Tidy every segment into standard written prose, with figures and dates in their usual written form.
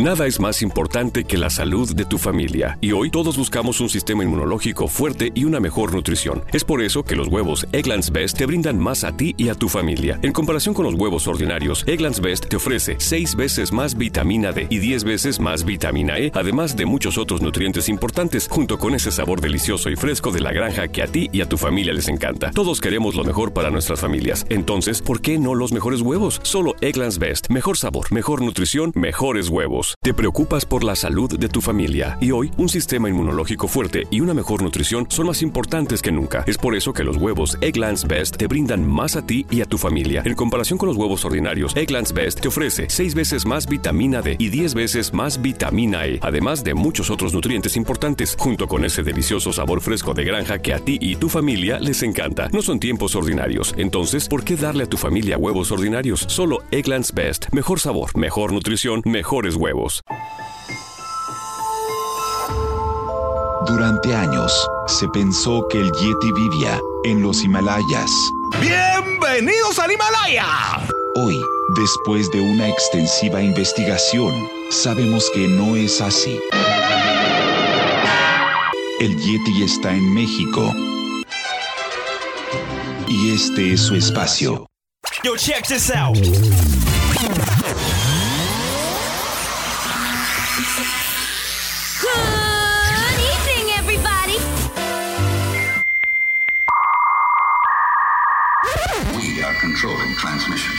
Nada es más importante que la salud de tu familia. Y hoy todos buscamos un sistema inmunológico fuerte y una mejor nutrición. Es por eso que los huevos Eggland's Best te brindan más a ti y a tu familia. En comparación con los huevos ordinarios, Eggland's Best te ofrece 6 veces más vitamina D y 10 veces más vitamina E, además de muchos otros nutrientes importantes, junto con ese sabor delicioso y fresco de la granja que a ti y a tu familia les encanta. Todos queremos lo mejor para nuestras familias. Entonces, ¿por qué no los mejores huevos? Solo Eggland's Best. Mejor sabor, mejor nutrición, mejores huevos. Te preocupas por la salud de tu familia. Y hoy, un sistema inmunológico fuerte y una mejor nutrición son más importantes que nunca. Es por eso que los huevos Eggland's Best te brindan más a ti y a tu familia. En comparación con los huevos ordinarios, Eggland's Best te ofrece 6 veces más vitamina D y 10 veces más vitamina E, además de muchos otros nutrientes importantes, junto con ese delicioso sabor fresco de granja que a ti y tu familia les encanta. No son tiempos ordinarios. Entonces, ¿por qué darle a tu familia huevos ordinarios? Solo Eggland's Best. Mejor sabor, mejor nutrición, mejores huevos. Durante años, se pensó que el Yeti vivía en los Himalayas. ¡Bienvenidos al Himalaya! Hoy, después de una extensiva investigación, sabemos que no es así. El Yeti está en México. Y este es su espacio. Yo, check this out. Controlling transmission.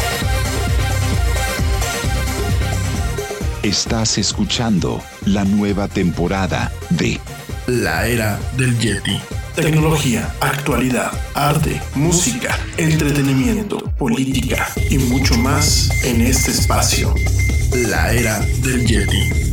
Estás escuchando la nueva temporada de La Era del Yeti. Tecnología, actualidad, arte, música, entretenimiento, política y mucho más en este espacio. La Era del Yeti.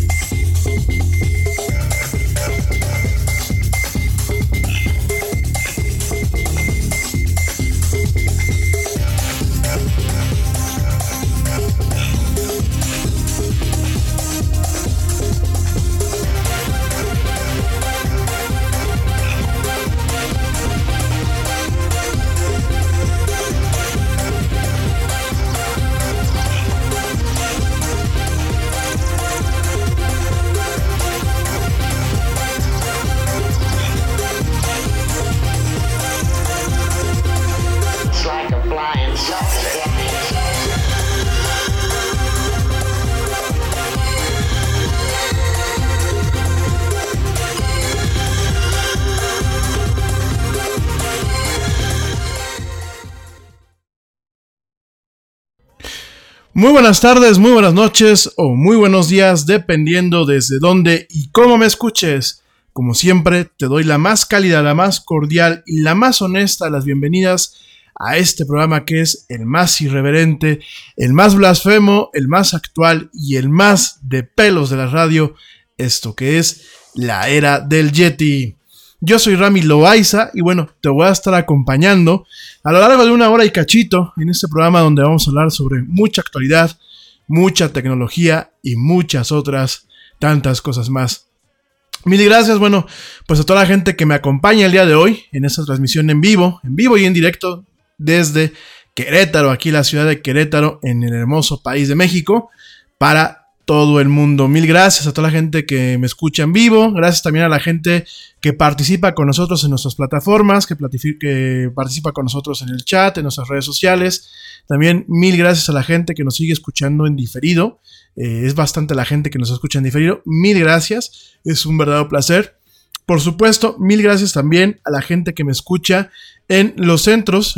Muy buenas tardes, muy buenas noches o muy buenos días, dependiendo desde dónde y cómo me escuches. Como siempre, te doy la más cálida, la más cordial y la más honesta de las bienvenidas a este programa que es el más irreverente, el más blasfemo, el más actual y el más de pelos de la radio, esto que es La Era del Yeti. Yo soy Rami Loaiza y bueno, te voy a estar acompañando a lo largo de 1 hora y cachito en este programa donde vamos a hablar sobre mucha actualidad, mucha tecnología y muchas otras tantas cosas más. Mil gracias, bueno, pues a toda la gente que me acompaña el día de hoy en esta transmisión en vivo y en directo desde Querétaro, aquí la ciudad de Querétaro, en el hermoso país de México, para todo el mundo. Mil gracias a toda la gente que me escucha en vivo, gracias también a la gente que participa con nosotros en nuestras plataformas, que participa con nosotros en el chat, en nuestras redes sociales. También mil gracias a la gente que nos sigue escuchando en diferido, es bastante la gente que nos escucha en diferido, mil gracias, es un verdadero placer. Por supuesto, mil gracias también a la gente que me escucha en los centros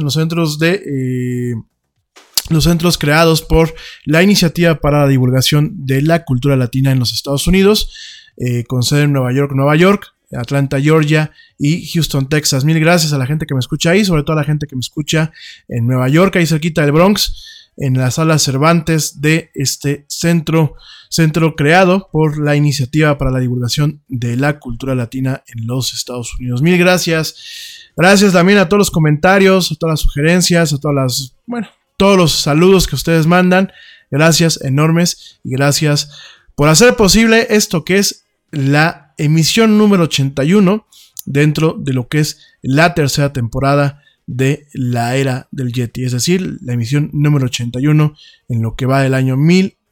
creados por la Iniciativa para la Divulgación de la Cultura Latina en los Estados Unidos, con sede en Nueva York, Atlanta, Georgia y Houston, Texas. Mil gracias a la gente que me escucha ahí, sobre todo a la gente que me escucha en Nueva York, ahí cerquita del Bronx, en la sala Cervantes de este centro creado por la Iniciativa para la Divulgación de la Cultura Latina en los Estados Unidos. Mil gracias. Gracias también a todos los comentarios, a todas las sugerencias, a todos los saludos que ustedes mandan. Gracias enormes y gracias por hacer posible esto que es la emisión número 81 dentro de lo que es la tercera temporada de La Era del Yeti, es decir, la emisión número 81 en lo que va del año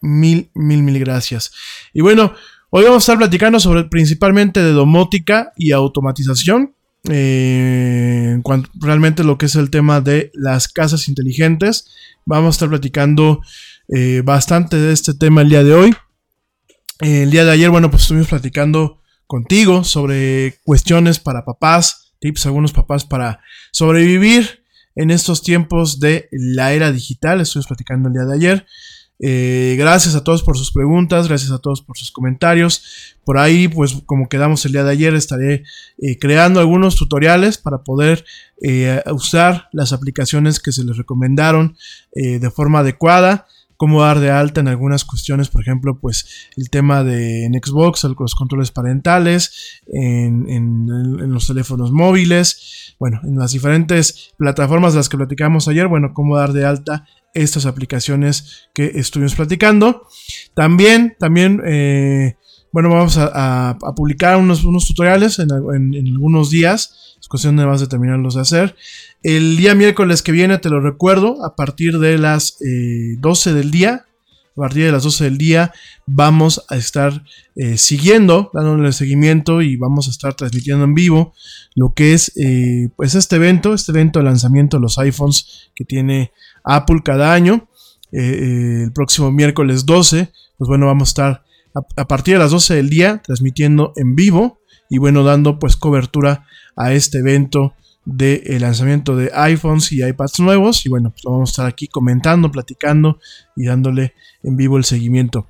mil gracias. Y bueno, hoy vamos a estar platicando sobre principalmente de domótica y automatización. En cuanto realmente lo que es el tema de las casas inteligentes, vamos a estar platicando bastante de este tema el día de hoy. El día de ayer, bueno, pues estuvimos platicando contigo sobre cuestiones para papás, tips a algunos papás para sobrevivir en estos tiempos de la era digital. Estuvimos platicando el día de ayer. Gracias a todos por sus preguntas, gracias a todos por sus comentarios. Por ahí, pues como quedamos el día de ayer, estaré creando algunos tutoriales para poder usar las aplicaciones que se les recomendaron de forma adecuada. Cómo dar de alta en algunas cuestiones, por ejemplo, pues el tema de en Xbox, los controles parentales, en los teléfonos móviles, bueno, en las diferentes plataformas de las que platicamos ayer, bueno, cómo dar de alta estas aplicaciones que estuvimos platicando. También, bueno, vamos a publicar unos tutoriales en algunos días. Es cuestión de más de terminarlos de hacer. El día miércoles que viene, te lo recuerdo, a partir de las 12 del día. A partir de las 12 del día vamos a estar dándole seguimiento y vamos a estar transmitiendo en vivo lo que es pues este evento de lanzamiento de los iPhones que tiene Apple cada año. El próximo miércoles 12, pues bueno, vamos a estar a partir de las 12 del día transmitiendo en vivo y bueno, dando pues cobertura a este evento de el lanzamiento de iPhones y iPads nuevos. Y bueno, pues vamos a estar aquí comentando, platicando y dándole en vivo el seguimiento.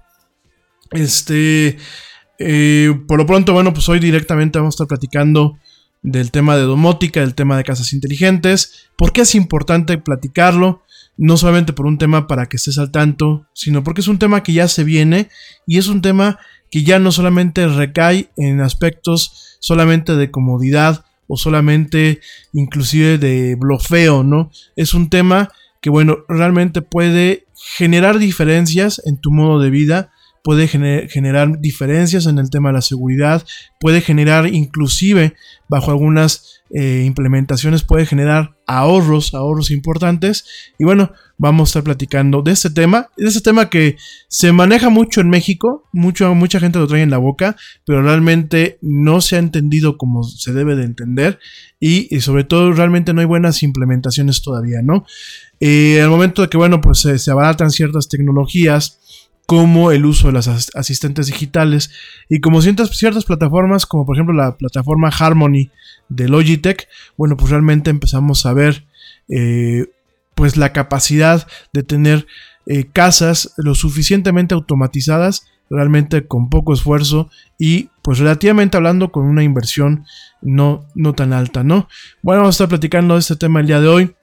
Por lo pronto, bueno, pues hoy directamente vamos a estar platicando del tema de domótica, del tema de casas inteligentes. ¿Por qué es importante platicarlo? No solamente por un tema para que estés al tanto, sino porque es un tema que ya se viene y es un tema que ya no solamente recae en aspectos solamente de comodidad o solamente inclusive de blofeo, ¿no? Es un tema que, bueno, realmente puede generar diferencias en tu modo de vida, puede generar diferencias en el tema de la seguridad, puede generar inclusive bajo algunas implementaciones, puede generar ahorros importantes. Y bueno, vamos a estar platicando de este tema que se maneja mucho en México, mucha gente lo trae en la boca, pero realmente no se ha entendido como se debe de entender y sobre todo realmente no hay buenas implementaciones todavía, ¿no? Al momento de que, bueno, pues se abaratan ciertas tecnologías como el uso de las asistentes digitales y como ciertas plataformas, como por ejemplo la plataforma Harmony de Logitech, bueno, pues realmente empezamos a ver pues la capacidad de tener casas lo suficientemente automatizadas, realmente con poco esfuerzo y pues relativamente hablando con una inversión no tan alta, ¿no? Bueno, vamos a estar platicando de este tema el día de hoy.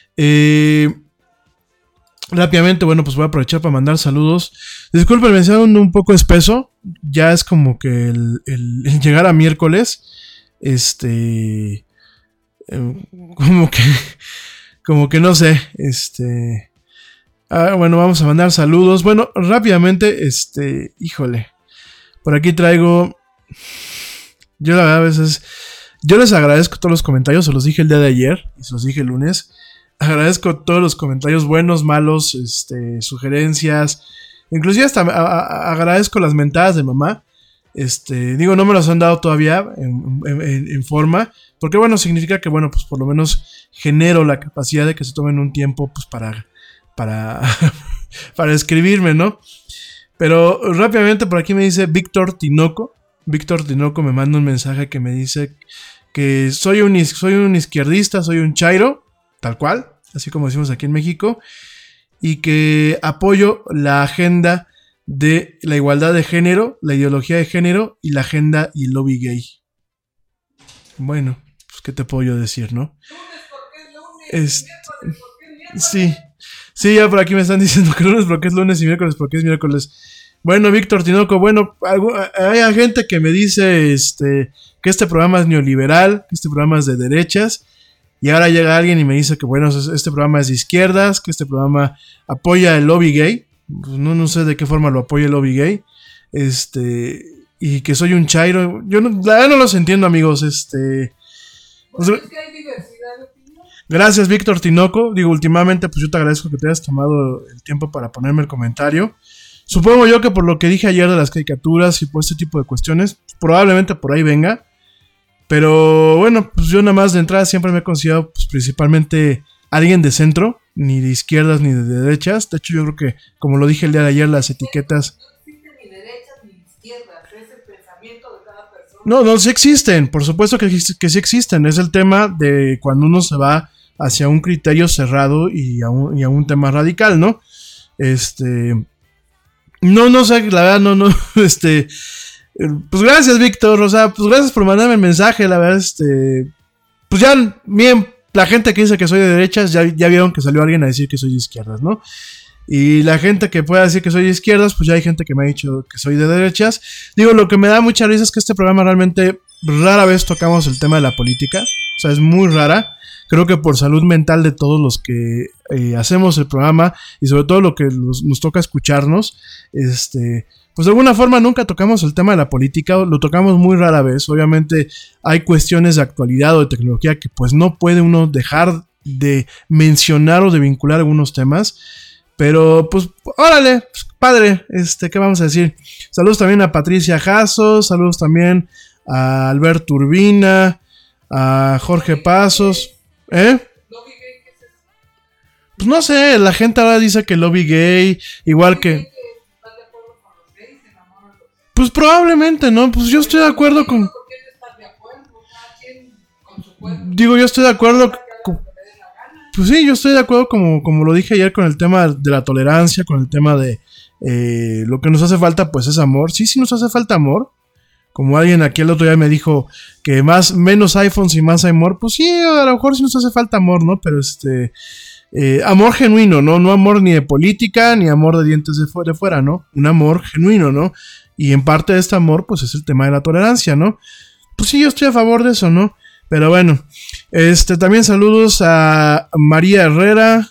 Rápidamente, bueno, pues voy a aprovechar para mandar saludos. Disculpen, me siento un poco espeso. Ya es como que el llegar a miércoles. Como que no sé. Bueno, vamos a mandar saludos. Bueno, rápidamente, híjole. Por aquí traigo. Yo la verdad a veces. Yo les agradezco todos los comentarios. Se los dije el día de ayer. Y se los dije el lunes. Agradezco todos los comentarios buenos, malos, sugerencias. Inclusive hasta agradezco las mentadas de mamá. Digo, no me las han dado todavía en forma. Porque bueno, significa que bueno, pues por lo menos genero la capacidad de que se tomen un tiempo pues para escribirme, ¿no? Pero rápidamente por aquí me dice Víctor Tinoco. Víctor Tinoco me manda un mensaje que me dice que soy un izquierdista, soy un chairo. Tal cual, así como decimos aquí en México, y que apoyo la agenda de la igualdad de género, la ideología de género y la agenda y el lobby gay. Bueno, pues qué te puedo yo decir, ¿no? Sí, ya por aquí me están diciendo que lunes porque es lunes y miércoles porque es miércoles. Bueno, Víctor Tinoco, bueno, hay gente que me dice que este programa es neoliberal, que este programa es de derechas. Y ahora llega alguien y me dice que bueno, este programa es de izquierdas, que este programa apoya el lobby gay. Pues no sé de qué forma lo apoya el lobby gay. Y que soy un chairo. Yo la verdad no los entiendo, amigos. Pues es que hay diversidad de opinión. Gracias, Víctor Tinoco. Digo, últimamente, pues yo te agradezco que te hayas tomado el tiempo para ponerme el comentario. Supongo yo que por lo que dije ayer de las caricaturas y por este tipo de cuestiones, probablemente por ahí venga. Pero bueno, pues yo nada más de entrada siempre me he considerado pues, principalmente alguien de centro, ni de izquierdas ni de derechas. De hecho, yo creo que, como lo dije el día de ayer, las etiquetas... No existen ni derechas ni izquierdas, es el pensamiento de cada persona. No, sí existen, por supuesto que sí existen. Es el tema de cuando uno se va hacia un criterio cerrado y a un tema radical, ¿no? No sé, la verdad, no, pues gracias, Víctor, o sea, pues gracias por mandarme el mensaje, la verdad, pues ya, bien, la gente que dice que soy de derechas, ya vieron que salió alguien a decir que soy de izquierdas, ¿no? Y la gente que pueda decir que soy de izquierdas, pues ya hay gente que me ha dicho que soy de derechas. Digo, lo que me da mucha risa es que este programa realmente rara vez tocamos el tema de la política, o sea, es muy rara. Creo que por salud mental de todos los que hacemos el programa y sobre todo lo que nos toca escucharnos, pues de alguna forma nunca tocamos el tema de la política, lo tocamos muy rara vez. Obviamente hay cuestiones de actualidad o de tecnología que pues no puede uno dejar de mencionar o de vincular algunos temas, pero pues órale, pues, padre, ¿qué vamos a decir? Saludos también a Patricia Jasso, saludos también a Alberto Urbina, a Jorge Pasos. Pues no sé, la gente ahora dice que lobby gay, igual que... Pues probablemente, ¿no? Pues yo estoy de acuerdo con... Digo, yo estoy de acuerdo... Pues sí, yo estoy de acuerdo como lo dije ayer con el tema de la tolerancia, con el tema de lo que nos hace falta pues es amor. Sí nos hace falta amor. Como alguien aquí el otro día me dijo que menos iPhones y más amor, pues sí, a lo mejor sí nos hace falta amor, ¿no? Pero amor genuino, ¿no? No amor ni de política, ni amor de dientes de fuera, ¿no? Un amor genuino, ¿no? Y en parte de este amor, pues es el tema de la tolerancia, ¿no? Pues sí, yo estoy a favor de eso, ¿no? Pero bueno, también saludos a María Herrera,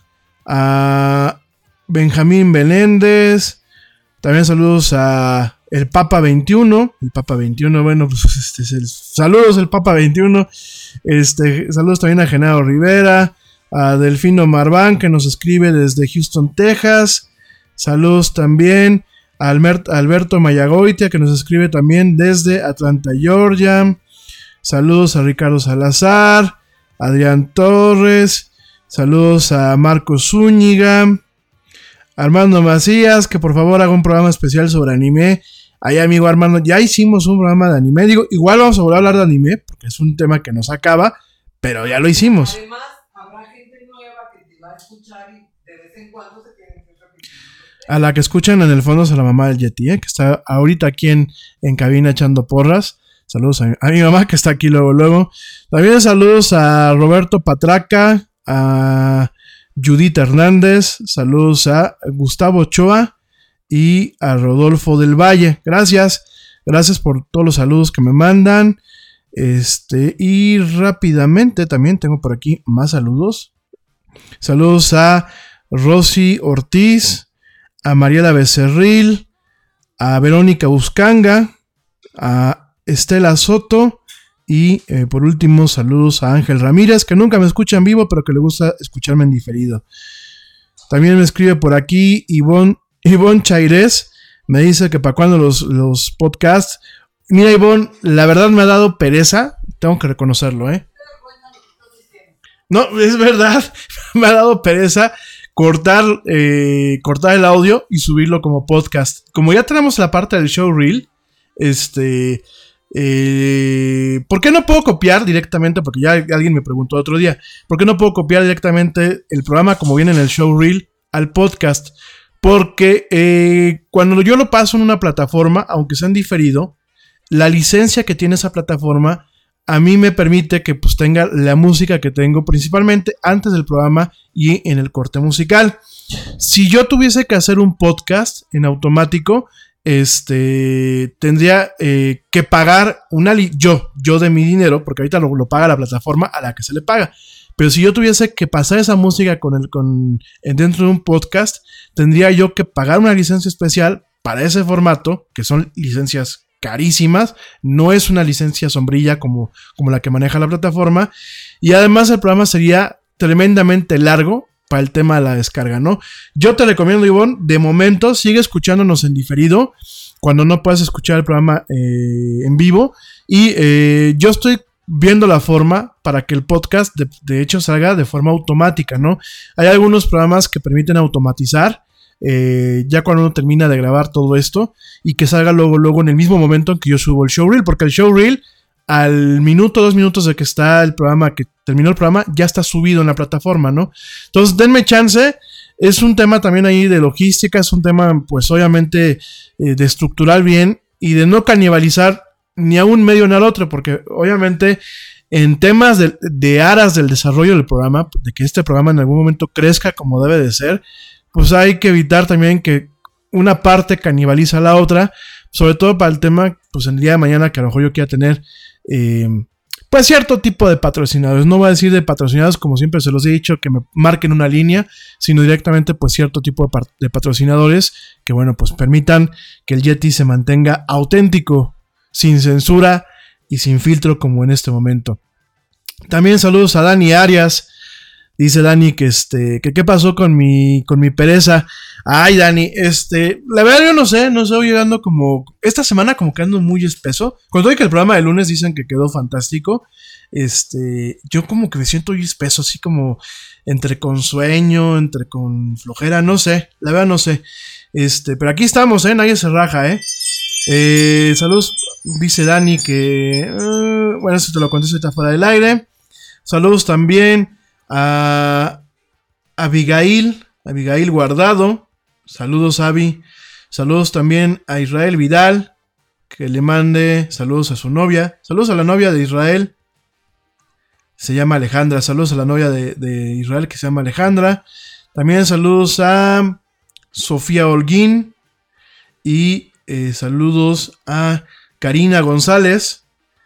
a Benjamín Beléndez, también saludos a el Papa 21, bueno, pues saludos el Papa 21, saludos también a Genaro Rivera, a Delfino Marván que nos escribe desde Houston, Texas, saludos también a Alberto Mayagoitia que nos escribe también desde Atlanta, Georgia, saludos a Ricardo Salazar, Adrián Torres, saludos a Marcos Zúñiga, Armando Macías, que por favor haga un programa especial sobre anime. Ahí, amigo Armando, ya hicimos un programa de anime. Digo, igual vamos a volver a hablar de anime, porque es un tema que nos acaba, pero ya lo hicimos. Además, habrá gente nueva que te va a escuchar y de vez en cuando se tienen que repetir. A la que escuchan en el fondo es a la mamá del Yeti, que está ahorita aquí en cabina echando porras. Saludos a mi mamá que está aquí luego. También saludos a Roberto Patraca, a Judith Hernández, saludos a Gustavo Ochoa y a Rodolfo del Valle. Gracias por todos los saludos que me mandan. Y rápidamente también tengo por aquí más saludos. Saludos a Rosy Ortiz, a Mariela Becerril, a Verónica Buscanga, a Estela Soto y por último saludos a Ángel Ramírez, que nunca me escucha en vivo pero que le gusta escucharme en diferido. También me escribe por aquí Ivonne Chairés, me dice que para cuando los podcasts. Mira, Ivonne, la verdad me ha dado pereza, tengo que reconocerlo, No, es verdad, me ha dado pereza cortar el audio y subirlo como podcast. Como ya tenemos la parte del show reel, ¿por qué no puedo copiar directamente? Porque ya alguien me preguntó otro día, ¿por qué no puedo copiar directamente el programa como viene en el show reel al podcast? Porque cuando yo lo paso en una plataforma, aunque sea en diferido, la licencia que tiene esa plataforma a mí me permite que pues tenga la música que tengo principalmente antes del programa y en el corte musical. Si yo tuviese que hacer un podcast en automático, tendría que pagar yo de mi dinero, porque ahorita lo paga la plataforma a la que se le paga. Pero si yo tuviese que pasar esa música dentro de un podcast, tendría yo que pagar una licencia especial para ese formato, que son licencias carísimas, no es una licencia sombrilla como la que maneja la plataforma, y además el programa sería tremendamente largo para el tema de la descarga, ¿no? Yo te recomiendo, Ivonne, de momento sigue escuchándonos en diferido cuando no puedas escuchar el programa en vivo, y yo estoy viendo la forma para que el podcast de hecho salga de forma automática, ¿no? Hay algunos programas que permiten automatizar ya cuando uno termina de grabar todo esto, y que salga luego en el mismo momento en que yo subo el showreel, porque el showreel al minuto, 2 minutos de que está el programa, que terminó el programa, ya está subido en la plataforma, ¿no? Entonces denme chance. Es un tema también ahí de logística, es un tema pues obviamente de estructurar bien y de no canibalizar ni a un medio ni al otro, porque obviamente en temas de aras del desarrollo del programa, de que este programa en algún momento crezca como debe de ser, pues hay que evitar también que una parte canibaliza a la otra, sobre todo para el tema, pues el día de mañana que a lo mejor yo quiera tener pues cierto tipo de patrocinadores. No voy a decir de patrocinados, como siempre se los he dicho, que me marquen una línea, sino directamente pues cierto tipo de patrocinadores que, bueno, pues permitan que el Yeti se mantenga auténtico, sin censura y sin filtro como en este momento. También saludos a Dani Arias. Dice Dani que qué pasó con mi pereza. Ay, Dani, la verdad yo no sé, voy llegando como esta semana como que ando muy espeso. Cuando doy que el programa de lunes dicen que quedó fantástico, yo como que me siento muy espeso, así como entre con sueño, entre con flojera, no sé, la verdad no sé. Pero aquí estamos, nadie se raja, saludos, dice Dani que bueno, eso te lo contesto ahorita fuera del aire. Saludos también a Abigail Guardado, saludos Abby, saludos también a Israel Vidal, que le mande saludos a su novia, saludos a la novia de Israel, se llama Alejandra, saludos a la novia de Israel que se llama Alejandra, también saludos a Sofía Holguín y saludos a Karina González.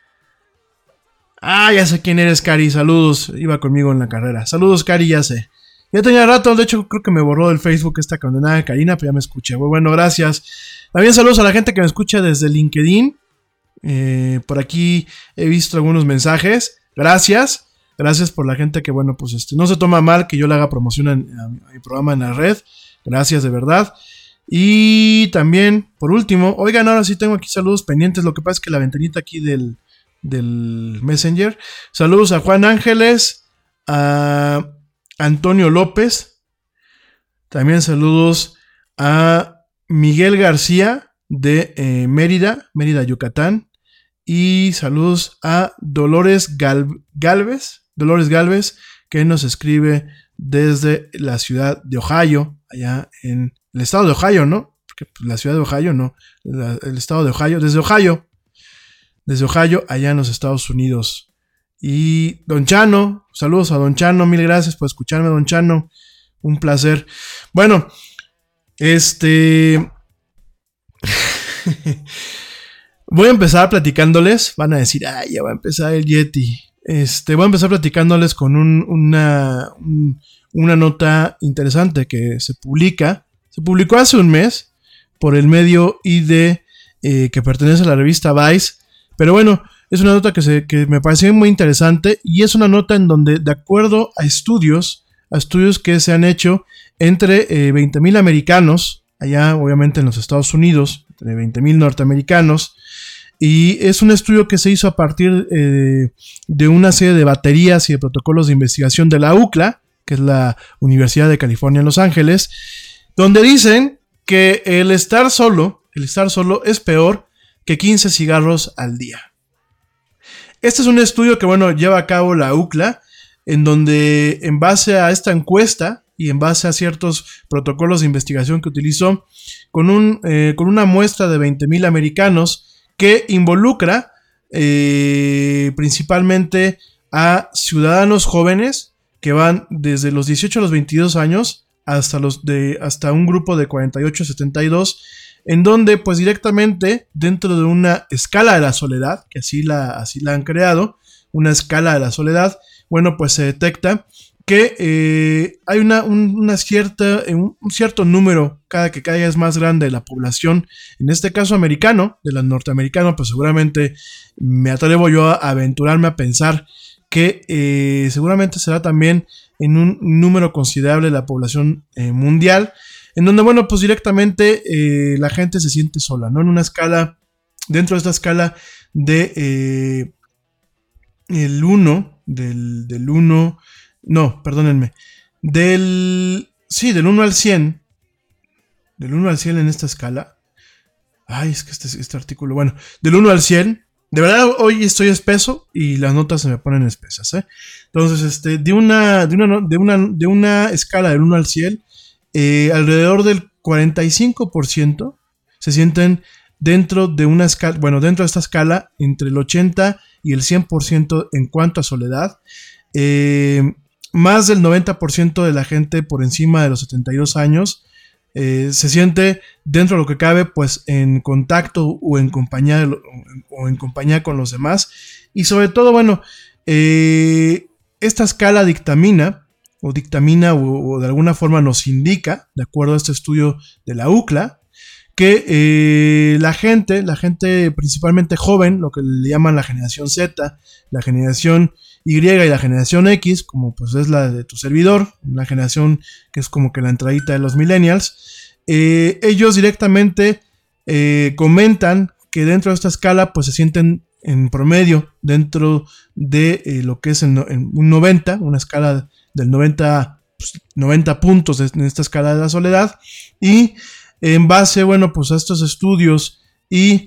Ah, ya sé quién eres, Cari, saludos, iba conmigo en la carrera. Saludos, Cari, ya sé. Ya tenía rato, de hecho creo que me borró del Facebook esta condenada Karina, pero ya me escuché. Muy bueno, gracias. También saludos a la gente que me escucha desde LinkedIn. Por aquí he visto algunos mensajes. Gracias por la gente que, bueno, pues no se toma mal que yo le haga promoción a mi programa en la red. Gracias, de verdad. Y también, por último, oigan, ahora sí tengo aquí saludos pendientes. Lo que pasa es que la ventanita aquí del Messenger. Saludos a Juan Ángeles, a Antonio López. También saludos a Miguel García de Mérida, Yucatán. Y saludos a Dolores Galvez, que nos escribe desde la ciudad de Ohio, allá en el estado de Ohio, ¿no? Porque la ciudad de Ohio no, el estado de Ohio, desde Ohio, allá en los Estados Unidos. Y Don Chano, saludos a Don Chano, mil gracias por escucharme, Don Chano, un placer. Bueno, voy a empezar platicándoles, van a decir, ay, ya va a empezar el Yeti. Voy a empezar platicándoles con una nota interesante que se publicó hace un mes por el medio ID que pertenece a la revista Vice. Pero bueno, es una nota que me pareció muy interesante, y es una nota en donde, de acuerdo a estudios que se han hecho entre 20,000 americanos, allá obviamente en los Estados Unidos, entre 20,000 norteamericanos, y es un estudio que se hizo a partir de una serie de baterías y de protocolos de investigación de la UCLA, que es la Universidad de California en Los Ángeles, donde dicen que el estar solo es peor que 15 cigarros al día. Este es un estudio que, bueno, lleva a cabo la UCLA, en donde, en base a esta encuesta y en base a ciertos protocolos de investigación que utilizó, con una muestra de 20,000 americanos, que involucra principalmente a ciudadanos jóvenes que van desde los 18 a los 22 años hasta un grupo de 48 a 72, en donde pues directamente dentro de una escala de la soledad, que así la han creado, una escala de la soledad, bueno, pues se detecta que hay un cierto número, cada vez es más grande de la población, en este caso americano, de la norteamericana, pues seguramente me atrevo yo a aventurarme a pensar que seguramente será también en un número considerable de la población mundial, en donde, bueno, pues directamente la gente se siente sola, ¿no? En una escala, dentro de esta escala de el 1, del 1, no, perdónenme, del 1 al 100, del 1 al 100 en esta escala, ay, es que este artículo, bueno, del 1 al 100, de verdad hoy estoy espeso y las notas se me ponen espesas, ¿eh? Entonces, de una escala del 1 al 100, alrededor del 45% se sienten dentro de una escala, bueno, dentro de esta escala, entre el 80 y el 100% en cuanto a soledad. Más del 90% de la gente por encima de los 72 años se siente dentro de lo que cabe, pues en contacto o en compañía con los demás. Y sobre todo, bueno, esta escala dictamina o de alguna forma nos indica, de acuerdo a este estudio de la UCLA, que la gente principalmente joven, lo que le llaman la generación Z, la generación Y y la generación X, como pues es la de tu servidor, una generación que es como que la entradita de los millennials, ellos directamente comentan que dentro de esta escala pues se sienten en promedio dentro de lo que es un 90, una escala del 90, pues, 90 puntos en esta escala de la soledad, y en base, bueno, pues a estos estudios y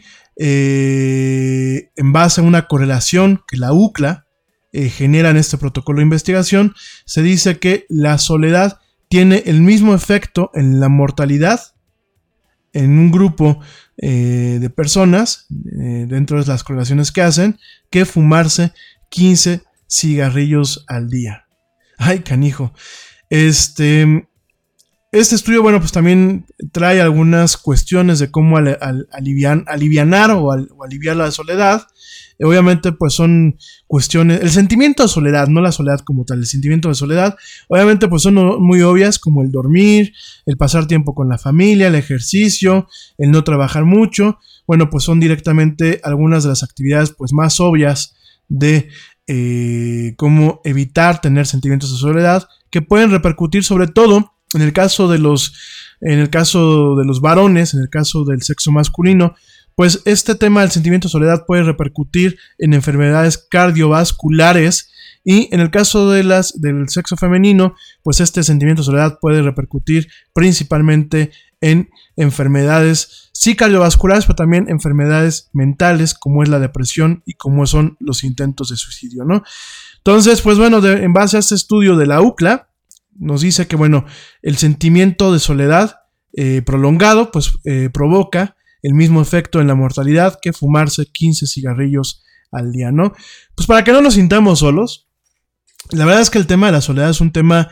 en base a una correlación que la UCLA genera en este protocolo de investigación, se dice que la soledad tiene el mismo efecto en la mortalidad en un grupo de personas, dentro de las correlaciones que hacen, que fumarse 15 cigarrillos al día. Ay, canijo. Este estudio, bueno, pues también trae algunas cuestiones de cómo alivianar o aliviar la soledad. Obviamente, pues son cuestiones, el sentimiento de soledad, no la soledad como tal, el sentimiento de soledad, obviamente, pues son muy obvias, como el dormir, el pasar tiempo con la familia, el ejercicio, el no trabajar mucho. Bueno, pues son directamente algunas de las actividades, pues más obvias de cómo evitar tener sentimientos de soledad, que pueden repercutir sobre todo en el caso de los varones, en el caso del sexo masculino. Pues este tema del sentimiento de soledad puede repercutir en enfermedades cardiovasculares, y en el caso del sexo femenino, pues este sentimiento de soledad puede repercutir principalmente en enfermedades sí cardiovasculares, pero también enfermedades mentales, como es la depresión y como son los intentos de suicidio, ¿no? Entonces, pues bueno, en base a este estudio de la UCLA, nos dice que, bueno, el sentimiento de soledad prolongado, pues provoca el mismo efecto en la mortalidad que fumarse 15 cigarrillos al día, ¿no? Pues para que no nos sintamos solos, la verdad es que el tema de la soledad es un tema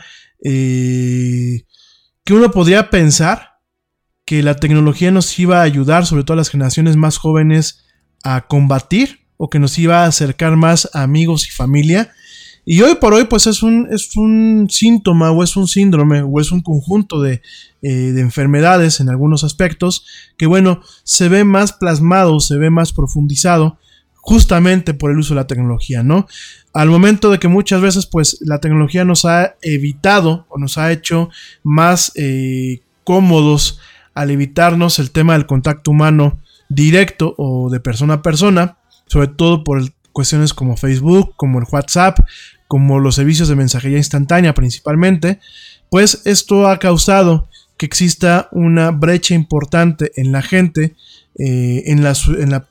que uno podría pensar que la tecnología nos iba a ayudar, sobre todo a las generaciones más jóvenes, a combatir, o que nos iba a acercar más a amigos y familia. Y hoy por hoy, pues es un síntoma, o es un síndrome, o es un conjunto de enfermedades en algunos aspectos, que bueno, se ve más plasmado, se ve más profundizado, justamente por el uso de la tecnología, ¿no? Al momento de que muchas veces, pues, la tecnología nos ha evitado, o nos ha hecho más cómodos al evitarnos el tema del contacto humano directo o de persona a persona, sobre todo por cuestiones como Facebook, como el WhatsApp, como los servicios de mensajería instantánea principalmente, pues esto ha causado que exista una brecha importante en la gente, en las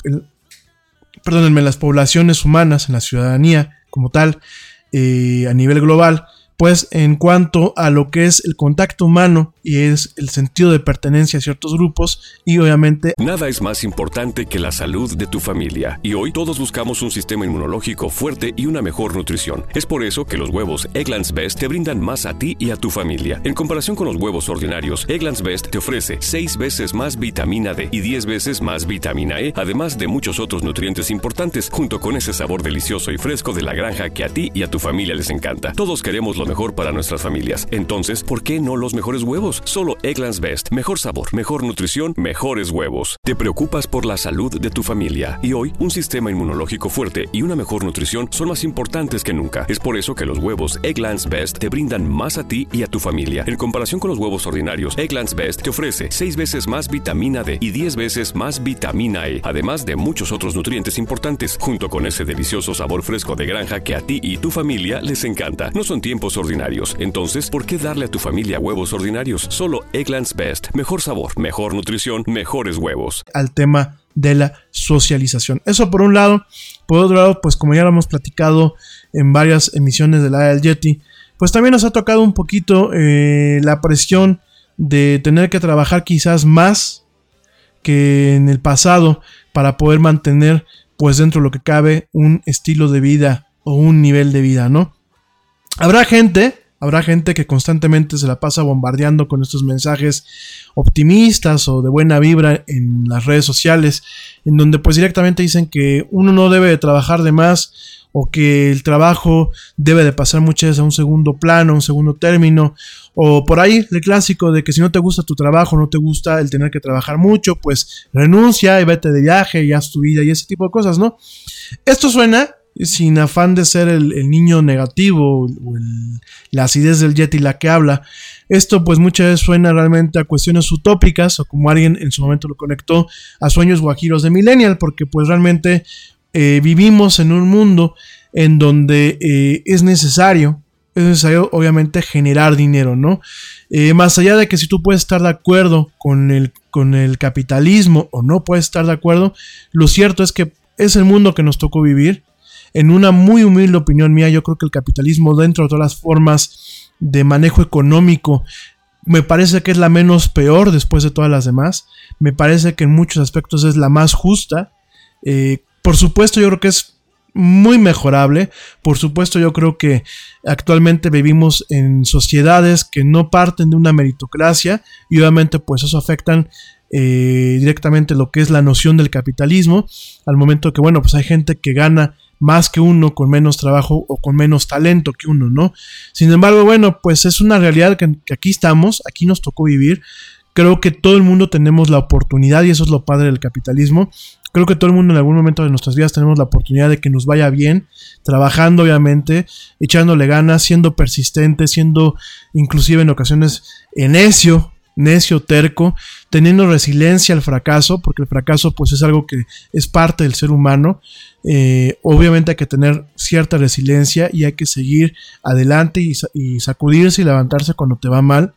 poblaciones humanas, en la ciudadanía como tal, a nivel global, pues en cuanto a lo que es el contacto humano y es el sentido de pertenencia a ciertos grupos, y obviamente nada es más importante que la salud de tu familia, y hoy todos buscamos un sistema inmunológico fuerte y una mejor nutrición. Es por eso que los huevos Eggland's Best te brindan más a ti y a tu familia. En comparación con los huevos ordinarios, Eggland's Best te ofrece 6 veces más vitamina D y 10 veces más vitamina E, además de muchos otros nutrientes importantes, junto con ese sabor delicioso y fresco de la granja que a ti y a tu familia les encanta. Todos queremos lo mejor para nuestras familias. Entonces, ¿por qué no los mejores huevos? Solo Eggland's Best. Mejor sabor, mejor nutrición, mejores huevos. Te preocupas por la salud de tu familia y hoy un sistema inmunológico fuerte y una mejor nutrición son más importantes que nunca. Es por eso que los huevos Eggland's Best te brindan más a ti y a tu familia. En comparación con los huevos ordinarios, Eggland's Best te ofrece 6 veces más vitamina D y 10 veces más vitamina E, además de muchos otros nutrientes importantes, junto con ese delicioso sabor fresco de granja que a ti y tu familia les encanta. No son tiempos ordinarios, entonces, ¿por qué darle a tu familia huevos ordinarios? Solo Eggland's Best. Mejor sabor, mejor nutrición, mejores huevos. Al tema de la socialización. Eso por un lado. Por otro lado, pues como ya lo hemos platicado en varias emisiones de la del Yeti, pues también nos ha tocado un poquito la presión de tener que trabajar quizás más que en el pasado para poder mantener, pues dentro de lo que cabe, un estilo de vida o un nivel de vida, ¿no? Habrá gente que constantemente se la pasa bombardeando con estos mensajes optimistas o de buena vibra en las redes sociales, en donde pues directamente dicen que uno no debe de trabajar de más o que el trabajo debe de pasar muchas veces a un segundo plano, un segundo término, o por ahí el clásico de que si no te gusta tu trabajo, no te gusta el tener que trabajar mucho, pues renuncia y vete de viaje y haz tu vida y ese tipo de cosas, ¿no? Esto suena, sin afán de ser el niño negativo o la acidez del Yeti la que habla, esto pues muchas veces suena realmente a cuestiones utópicas o como alguien en su momento lo conectó a sueños guajiros de millennial, porque pues realmente vivimos en un mundo en donde es necesario obviamente generar dinero, ¿no? Más allá de que si tú puedes estar de acuerdo con el capitalismo o no puedes estar de acuerdo, lo cierto es que es el mundo que nos tocó vivir. En una muy humilde opinión mía, yo creo que el capitalismo, dentro de todas las formas de manejo económico, me parece que es la menos peor después de todas las demás. Me parece que en muchos aspectos es la más justa. Por supuesto, yo creo que es muy mejorable. Por supuesto, yo creo que actualmente vivimos en sociedades que no parten de una meritocracia y obviamente pues eso afectan directamente lo que es la noción del capitalismo, al momento que bueno, pues hay gente que gana más que uno con menos trabajo o con menos talento que uno, ¿no? Sin embargo, bueno, pues es una realidad que aquí estamos, aquí nos tocó vivir. Creo que todo el mundo tenemos la oportunidad y eso es lo padre del capitalismo. Creo que todo el mundo en algún momento de nuestras vidas tenemos la oportunidad de que nos vaya bien, trabajando obviamente, echándole ganas, siendo persistente, siendo inclusive en ocasiones necio, terco, teniendo resiliencia al fracaso, porque el fracaso pues es algo que es parte del ser humano. Obviamente hay que tener cierta resiliencia y hay que seguir adelante y sacudirse y levantarse cuando te va mal.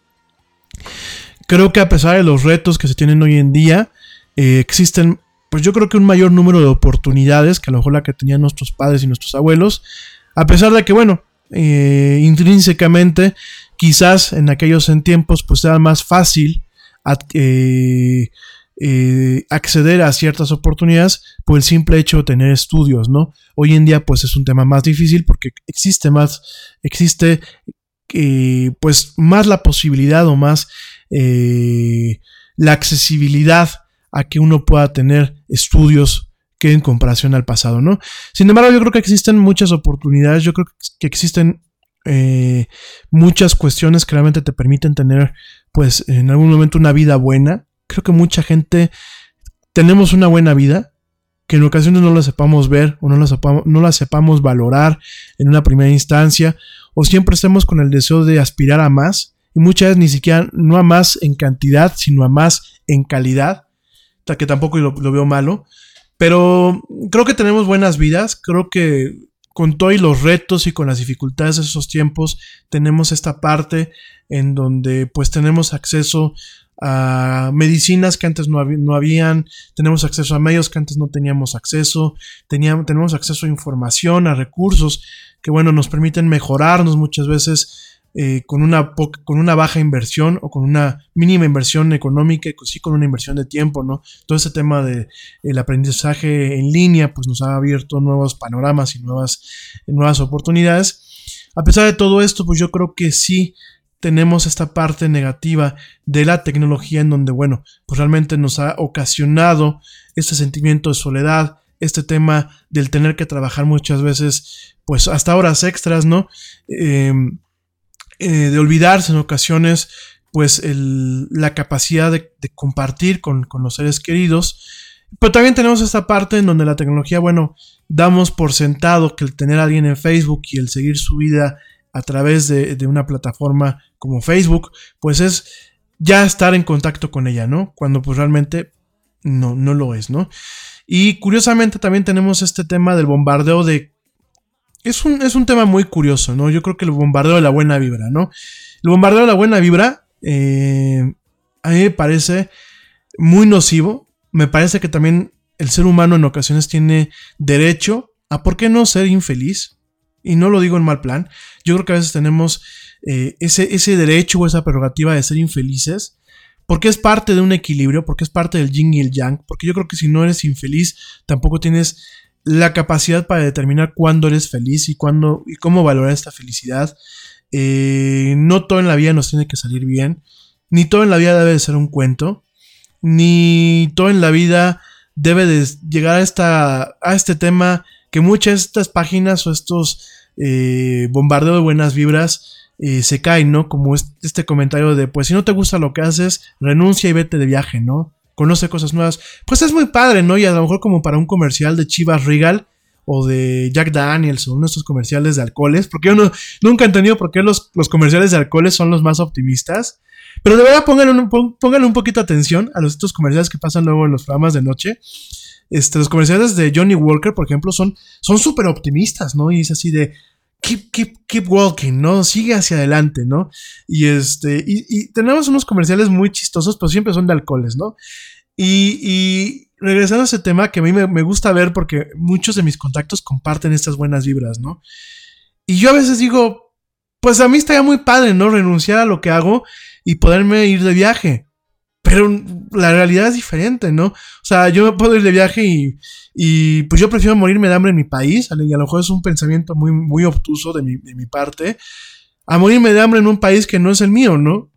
Creo que a pesar de los retos que se tienen hoy en día, existen pues yo creo que un mayor número de oportunidades que a lo mejor la que tenían nuestros padres y nuestros abuelos, a pesar de que bueno, intrínsecamente quizás en aquellos tiempos pues era más fácil acceder a ciertas oportunidades por el simple hecho de tener estudios, ¿no? Hoy en día pues es un tema más difícil porque existe pues más la posibilidad o más la accesibilidad a que uno pueda tener estudios que en comparación al pasado, ¿no? Sin embargo, yo creo que existen muchas oportunidades, yo creo que existen muchas cuestiones que realmente te permiten tener, pues, en algún momento una vida buena. Creo que mucha gente tenemos una buena vida, que en ocasiones no la sepamos ver o no la sepamos valorar en una primera instancia, o siempre estemos con el deseo de aspirar a más, y muchas veces ni siquiera, no a más en cantidad, sino a más en calidad, que tampoco lo veo malo, pero creo que tenemos buenas vidas. Creo que con todos los retos y con las dificultades de esos tiempos, tenemos esta parte en donde pues tenemos acceso a medicinas que antes no habían, tenemos acceso a medios que antes no teníamos acceso, tenemos acceso a información, a recursos que bueno, nos permiten mejorarnos muchas veces con una baja inversión o con una mínima inversión económica y sí con una inversión de tiempo, ¿no? Todo ese tema del aprendizaje en línea pues nos ha abierto nuevos panoramas y nuevas oportunidades. A pesar de todo esto, pues yo creo que sí tenemos esta parte negativa de la tecnología en donde, bueno, pues realmente nos ha ocasionado este sentimiento de soledad, este tema del tener que trabajar muchas veces, pues hasta horas extras, ¿no? de olvidarse en ocasiones, pues la capacidad de compartir con los seres queridos. Pero también tenemos esta parte en donde la tecnología, bueno, damos por sentado que el tener a alguien en Facebook y el seguir su vida a través de una plataforma como Facebook, pues es ya estar en contacto con ella, ¿no? Cuando pues realmente no lo es, ¿no? Y curiosamente también tenemos este tema del bombardeo es un tema muy curioso, ¿no? Yo creo que el bombardeo de la buena vibra, ¿no? El bombardeo de la buena vibra a mí me parece muy nocivo. Me parece que también el ser humano en ocasiones tiene derecho a, ¿por qué no ser infeliz? Y no lo digo en mal plan. Yo creo que a veces tenemos ese derecho o esa prerrogativa de ser infelices, porque es parte de un equilibrio, porque es parte del yin y el yang, porque yo creo que si no eres infeliz, tampoco tienes la capacidad para determinar cuándo eres feliz y cuándo y cómo valorar esta felicidad. No todo en la vida nos tiene que salir bien, ni todo en la vida debe de ser un cuento, ni todo en la vida debe de llegar a este tema que muchas de estas páginas o estos bombardeos de buenas vibras se caen, ¿no? Como este comentario de, pues si no te gusta lo que haces, renuncia y vete de viaje, ¿no? Conoce cosas nuevas. Pues es muy padre, ¿no? Y a lo mejor como para un comercial de Chivas Regal o de Jack Daniels o uno de estos comerciales de alcoholes, porque yo nunca he entendido por qué los comerciales de alcoholes son los más optimistas. Pero de verdad pónganle un poquito atención a estos comerciales que pasan luego en los programas de noche. Los comerciales de Johnny Walker, por ejemplo, son súper optimistas, ¿no? Y es así de keep walking, ¿no? Sigue hacia adelante, ¿no? Y tenemos unos comerciales muy chistosos, pero siempre son de alcoholes, ¿no? Y regresando a ese tema que a mí me gusta ver porque muchos de mis contactos comparten estas buenas vibras, ¿no? Y yo a veces digo, pues a mí estaría muy padre, ¿no? Renunciar a lo que hago y poderme ir de viaje. Pero la realidad es diferente, ¿no? O sea, yo me puedo ir de viaje y pues yo prefiero morirme de hambre en mi país, y a lo mejor es un pensamiento muy, muy obtuso de mi parte, a morirme de hambre en un país que no es el mío, ¿no?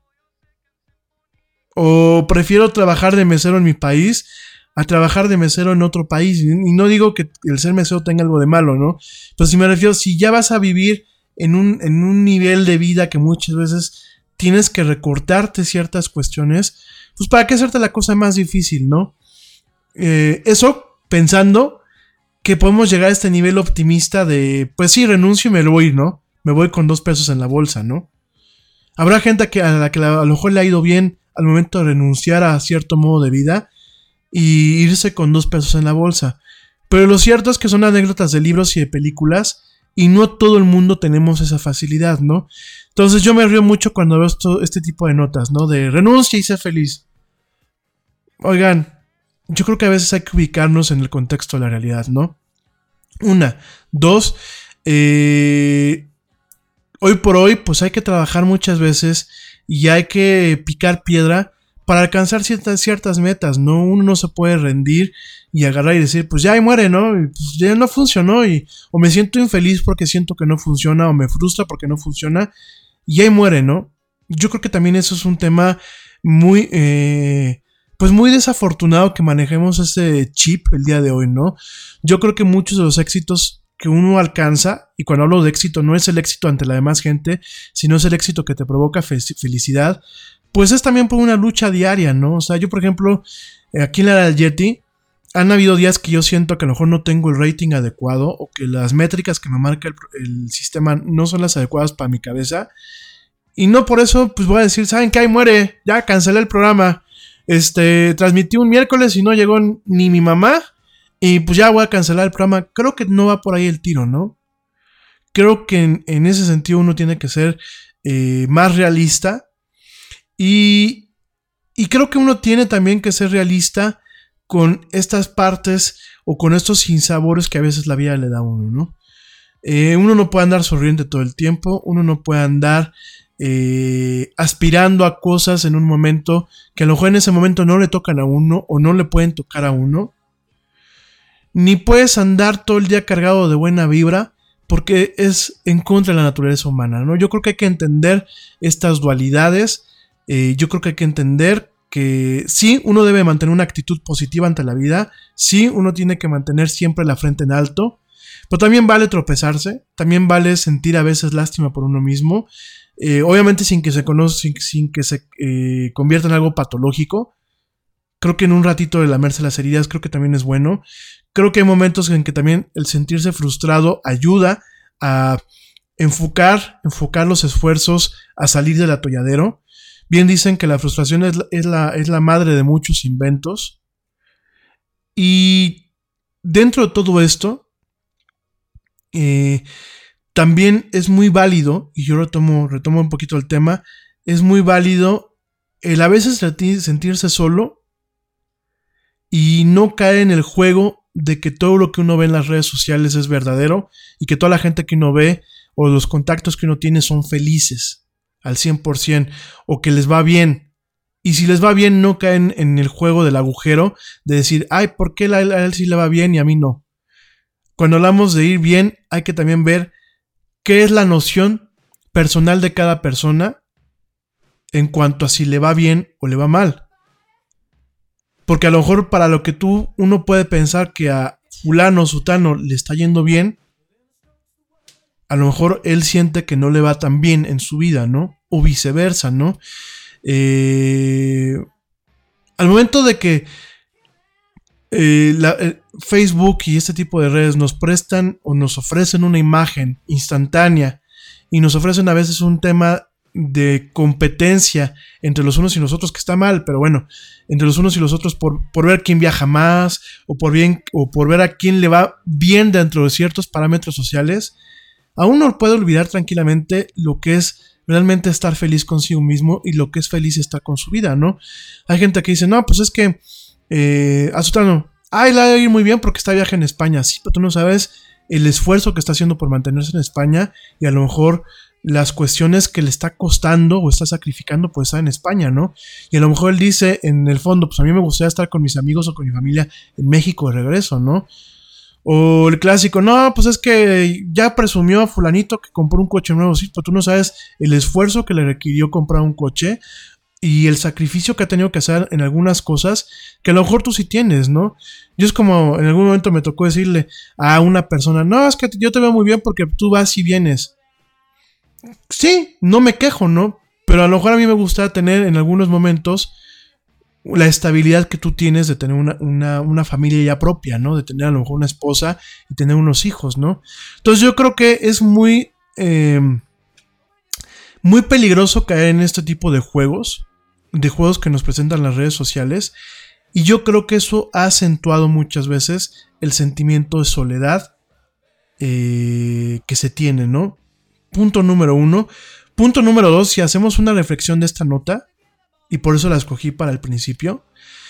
O prefiero trabajar de mesero en mi país a trabajar de mesero en otro país. Y no digo que el ser mesero tenga algo de malo, ¿no? Pero si me refiero, si ya vas a vivir en un nivel de vida que muchas veces tienes que recortarte ciertas cuestiones, pues para qué hacerte la cosa más difícil, ¿no? Eso pensando que podemos llegar a este nivel optimista de, pues sí, renuncio y me voy, ¿no? Me voy con 2 pesos en la bolsa, ¿no? Habrá gente a la que a lo mejor le ha ido bien al momento de renunciar a cierto modo de vida y irse con 2 pesos en la bolsa. Pero lo cierto es que son anécdotas de libros y de películas y no todo el mundo tenemos esa facilidad, ¿no? Entonces yo me río mucho cuando veo este tipo de notas, ¿no? De renuncia y sé feliz. Oigan, yo creo que a veces hay que ubicarnos en el contexto de la realidad, ¿no? 1, 2, hoy por hoy pues hay que trabajar muchas veces y hay que picar piedra para alcanzar ciertas metas, ¿no? Uno no se puede rendir y agarrar y decir, pues ya ahí muere, ¿no? Y pues ya no funcionó o me siento infeliz porque siento que no funciona o me frustra porque no funciona y ahí muere, ¿no? Yo creo que también eso es un tema muy, pues muy desafortunado que manejemos ese chip el día de hoy, ¿no? Yo creo que muchos de los éxitos que uno alcanza, y cuando hablo de éxito no es el éxito ante la demás gente, sino es el éxito que te provoca felicidad, pues es también por una lucha diaria, ¿no? O sea, yo por ejemplo, aquí en la era del Yeti, han habido días que yo siento que a lo mejor no tengo el rating adecuado o que las métricas que me marca el sistema no son las adecuadas para mi cabeza. Y no por eso, pues voy a decir, ¿saben qué? Ahí muere, ya cancelé el programa. Transmití un miércoles y no llegó ni mi mamá y pues ya voy a cancelar el programa. Creo que no va por ahí el tiro, ¿no? Creo que en ese sentido uno tiene que ser más realista y creo que uno tiene también que ser realista con estas partes o con estos sinsabores que a veces la vida le da a uno, ¿no? Uno no puede andar sonriente todo el tiempo, uno no puede andar aspirando a cosas en un momento que a lo mejor en ese momento no le tocan a uno o no le pueden tocar a uno, ni puedes andar todo el día cargado de buena vibra porque es en contra de la naturaleza humana, ¿no? Yo creo que hay que entender estas dualidades, yo creo que hay que entender que sí, uno debe mantener una actitud positiva ante la vida, sí, uno tiene que mantener siempre la frente en alto, pero también vale tropezarse, también vale sentir a veces lástima por uno mismo. obviamente sin que se convierta en algo patológico. Creo que en un ratito de lamerse las heridas creo que también es bueno. Creo que hay momentos en que también el sentirse frustrado ayuda a enfocar los esfuerzos a salir del atolladero. Bien dicen que la frustración es la madre de muchos inventos. Y dentro de todo esto, también es muy válido, y yo retomo un poquito el tema, es muy válido el a veces sentirse solo y no caer en el juego de que todo lo que uno ve en las redes sociales es verdadero y que toda la gente que uno ve o los contactos que uno tiene son felices al 100% o que les va bien. Y si les va bien, no caen en el juego del agujero de decir, ay, ¿por qué a él sí le va bien y a mí no? Cuando hablamos de ir bien, hay que también ver qué es la noción personal de cada persona en cuanto a si le va bien o le va mal. Porque a lo mejor para lo que uno puede pensar que a fulano o sutano le está yendo bien, a lo mejor él siente que no le va tan bien en su vida, ¿no? O viceversa, ¿no? Al momento de que Facebook y este tipo de redes nos prestan o nos ofrecen una imagen instantánea y nos ofrecen a veces un tema de competencia entre los unos y los otros, que está mal, pero bueno, entre los unos y los otros por ver quién viaja más o por ver a quién le va bien dentro de ciertos parámetros sociales, a uno puede olvidar tranquilamente lo que es realmente estar feliz consigo mismo y lo que es feliz estar con su vida, ¿no? Hay gente que dice, no, pues es que a Sutano, le va a ir muy bien porque está de viaje en España. Sí, pero tú no sabes el esfuerzo que está haciendo por mantenerse en España y a lo mejor las cuestiones que le está costando o está sacrificando por estar en España, ¿no? Y a lo mejor él dice en el fondo, pues a mí me gustaría estar con mis amigos o con mi familia en México de regreso, ¿no? O el clásico, no, pues es que ya presumió a fulanito que compró un coche nuevo. Sí, pero tú no sabes el esfuerzo que le requirió comprar un coche y el sacrificio que ha tenido que hacer en algunas cosas que a lo mejor tú sí tienes, ¿no? Yo es como, en algún momento me tocó decirle a una persona, no, es que yo te veo muy bien porque tú vas y vienes. Sí, no me quejo, ¿no? Pero a lo mejor a mí me gusta tener en algunos momentos la estabilidad que tú tienes de tener una familia ya propia, ¿no? De tener a lo mejor una esposa y tener unos hijos, ¿no? Entonces yo creo que es muy peligroso caer en este tipo de juegos que nos presentan las redes sociales, y yo creo que eso ha acentuado muchas veces el sentimiento de soledad que se tiene, ¿no? Punto número 1. Punto número 2, si hacemos una reflexión de esta nota, y por eso la escogí para el principio,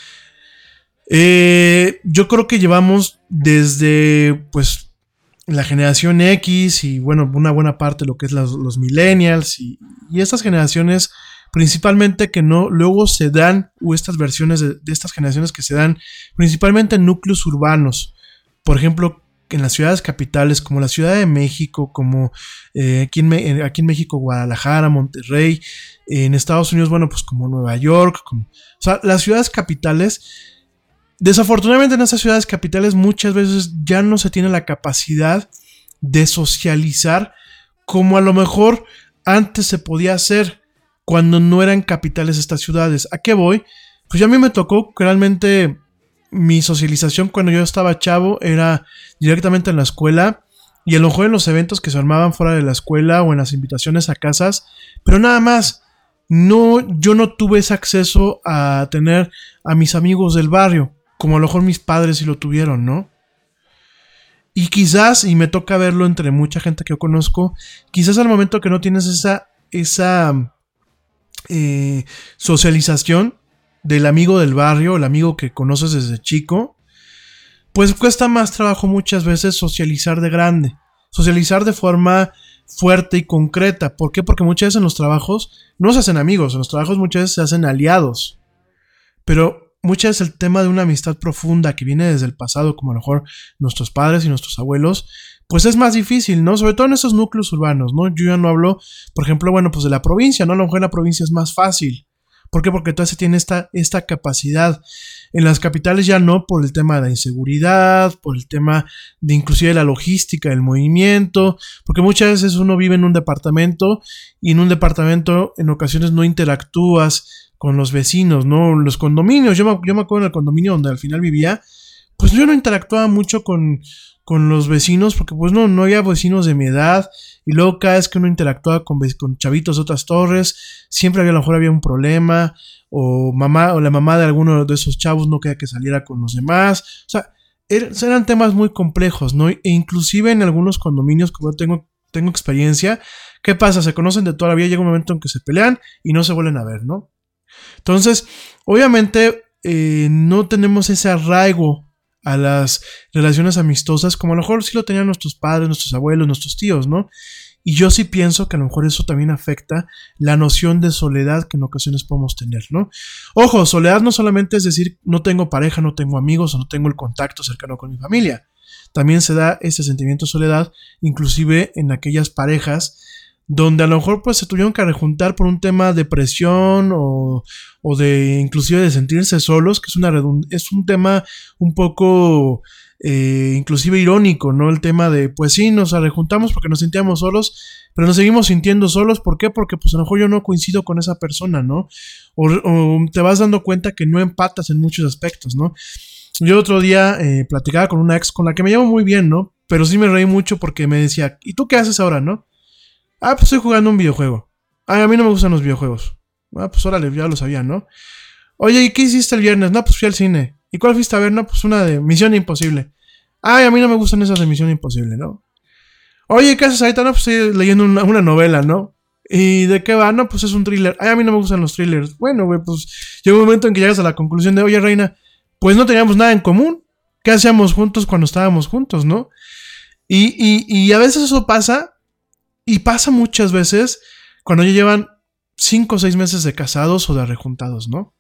yo creo que llevamos desde pues la generación X y bueno, una buena parte de lo que es los millennials y estas generaciones principalmente que no luego se dan, o estas versiones de estas generaciones que se dan principalmente en núcleos urbanos, por ejemplo en las ciudades capitales como la Ciudad de México, como aquí en México Guadalajara, Monterrey, en Estados Unidos, bueno, pues como Nueva York, o sea, las ciudades capitales. Desafortunadamente en esas ciudades capitales muchas veces ya no se tiene la capacidad de socializar como a lo mejor antes se podía hacer cuando no eran capitales estas ciudades. ¿A qué voy? Pues ya a mí me tocó que realmente mi socialización cuando yo estaba chavo era directamente en la escuela y a lo mejor en los eventos que se armaban fuera de la escuela o en las invitaciones a casas, pero nada más. No, yo no tuve ese acceso a tener a mis amigos del barrio, como a lo mejor mis padres sí lo tuvieron, ¿no? Y quizás, y me toca verlo entre mucha gente que yo conozco, quizás al momento que no tienes esa socialización del amigo del barrio, el amigo que conoces desde chico, pues cuesta más trabajo muchas veces socializar de grande, socializar de forma fuerte y concreta. ¿Por qué? Porque muchas veces en los trabajos no se hacen amigos, en los trabajos muchas veces se hacen aliados, pero muchas veces el tema de una amistad profunda que viene desde el pasado, como a lo mejor nuestros padres y nuestros abuelos, pues es más difícil, ¿no? Sobre todo en esos núcleos urbanos, ¿no? Yo ya no hablo, por ejemplo, bueno, pues de la provincia, ¿no? A lo mejor en la provincia es más fácil, ¿Por qué? Porque todavía se tiene esta capacidad. En las capitales ya no, por el tema de la inseguridad, por el tema de inclusive la logística, el movimiento, porque muchas veces uno vive en un departamento y en un departamento en ocasiones no interactúas con los vecinos, ¿no? Los condominios, yo me acuerdo en el condominio donde al final vivía, pues yo no interactuaba mucho con los vecinos porque pues no había vecinos de mi edad, y luego cada vez que uno interactuaba con chavitos de otras torres, siempre a lo mejor había un problema, o la mamá de alguno de esos chavos no quería que saliera con los demás, o sea, eran temas muy complejos, ¿no? E inclusive en algunos condominios, como yo tengo experiencia, ¿qué pasa? Se conocen de toda la vida, llega un momento en que se pelean y no se vuelven a ver, ¿no? Entonces, obviamente, no tenemos ese arraigo a las relaciones amistosas como a lo mejor sí lo tenían nuestros padres, nuestros abuelos, nuestros tíos, ¿no? Y yo sí pienso que a lo mejor eso también afecta la noción de soledad que en ocasiones podemos tener, ¿no? Ojo, soledad no solamente es decir no tengo pareja, no tengo amigos o no tengo el contacto cercano con mi familia. También se da ese sentimiento de soledad inclusive en aquellas parejas donde a lo mejor pues se tuvieron que rejuntar por un tema de presión o de inclusive de sentirse solos, que es un tema un poco inclusive irónico, ¿no? El tema de pues sí, nos rejuntamos porque nos sentíamos solos, pero nos seguimos sintiendo solos, ¿por qué? Porque pues a lo mejor yo no coincido con esa persona, ¿no? O te vas dando cuenta que no empatas en muchos aspectos, ¿no? Yo otro día platicaba con una ex con la que me llevo muy bien, ¿no? Pero sí me reí mucho porque me decía, ¿y tú qué haces ahora, no? Ah, pues estoy jugando un videojuego. Ah, a mí no me gustan los videojuegos. Ah, pues órale, ya lo sabía, ¿no? Oye, ¿y qué hiciste el viernes? No, pues fui al cine. ¿Y cuál fuiste a ver? No, pues una de Misión Imposible. Ay, a mí no me gustan esas de Misión Imposible, ¿no? Oye, ¿qué haces ahorita? No, pues estoy leyendo una novela, ¿no? ¿Y de qué va? No, pues es un thriller. Ay, a mí no me gustan los thrillers. Bueno, güey, pues llega un momento en que llegas a la conclusión de, oye, reina, pues no teníamos nada en común. ¿Qué hacíamos juntos cuando estábamos juntos, no? Y a veces eso pasa. Y pasa muchas veces cuando ya llevan 5 o 6 meses de casados o de rejuntados, ¿no?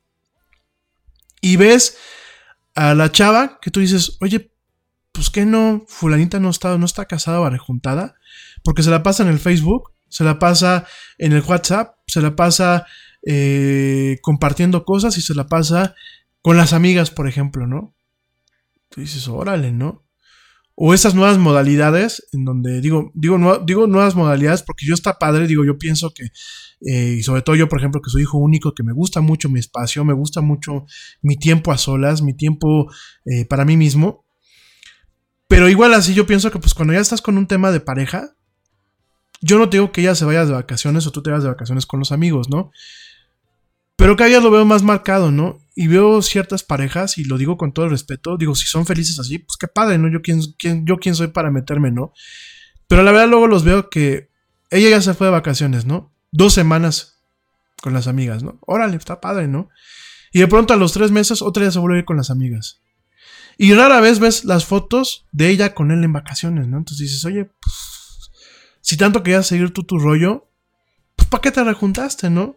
Y ves a la chava que tú dices, oye, pues que no, fulanita no está casada o rejuntada, porque se la pasa en el Facebook, se la pasa en el WhatsApp, se la pasa compartiendo cosas y se la pasa con las amigas, por ejemplo, ¿no? Tú dices, órale, ¿no? O esas nuevas modalidades, en donde digo nuevas modalidades porque yo está padre, yo pienso que, y sobre todo yo, por ejemplo, que soy hijo único, que me gusta mucho mi espacio, me gusta mucho mi tiempo a solas, mi tiempo para mí mismo. Pero igual así yo pienso que pues cuando ya estás con un tema de pareja, yo no te digo que ella se vaya de vacaciones o tú te vayas de vacaciones con los amigos, ¿no? Pero cada día lo veo más marcado, ¿no? Y veo ciertas parejas, y lo digo con todo el respeto, si son felices así, pues qué padre, ¿no? Yo quién soy para meterme, ¿no? Pero la verdad luego los veo que ella ya se fue de vacaciones, ¿no? 2 semanas con las amigas, ¿no? Órale, está padre, ¿no? Y de pronto a los 3 meses otra vez se vuelve a ir con las amigas. Y rara vez ves las fotos de ella con él en vacaciones, ¿no? Entonces dices, oye, pues, si tanto querías seguir tú tu rollo, pues ¿para qué te rejuntaste, no?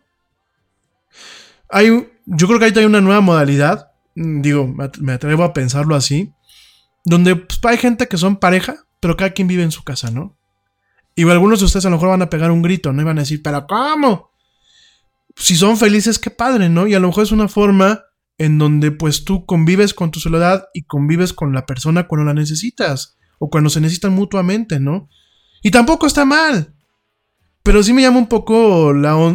Yo creo que ahí hay una nueva modalidad, me atrevo a pensarlo así, donde pues, hay gente que son pareja, pero cada quien vive en su casa, ¿no? Y algunos de ustedes a lo mejor van a pegar un grito, ¿no? Y van a decir, ¿pero cómo? Si son felices, qué padre, ¿no? Y a lo mejor es una forma en donde pues tú convives con tu soledad y convives con la persona cuando la necesitas, o cuando se necesitan mutuamente, ¿no? Y tampoco está mal, pero sí me llama un poco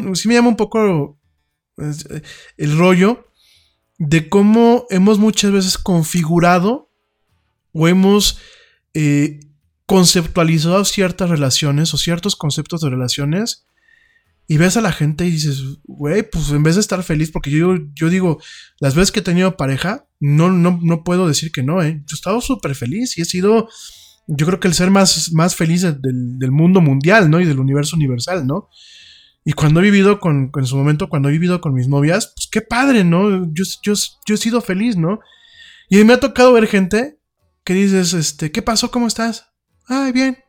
el rollo de cómo hemos muchas veces configurado o hemos conceptualizado ciertas relaciones o ciertos conceptos de relaciones, y ves a la gente y dices, güey, pues en vez de estar feliz, porque yo digo, las veces que he tenido pareja, no puedo decir que no, yo he estado súper feliz y he sido, yo creo que el ser más feliz del mundo mundial, ¿no? Y del universo universal, ¿no? Y cuando he vivido en su momento, cuando he vivido con mis novias, pues qué padre, ¿no? Yo he sido feliz, ¿no? Y me ha tocado ver gente que dices, ¿qué pasó? ¿Cómo estás? Ay, bien.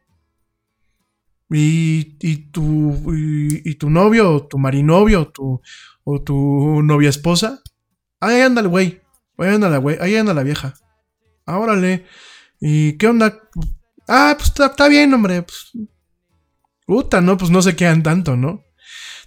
Y tu novio, o tu marinovio, o tu novia esposa. Ahí anda el güey. Ahí anda la vieja. Ah, órale. ¿Y qué onda? Ah, pues está bien, hombre. Pues, puta, ¿no? Pues no se quedan tanto, ¿no?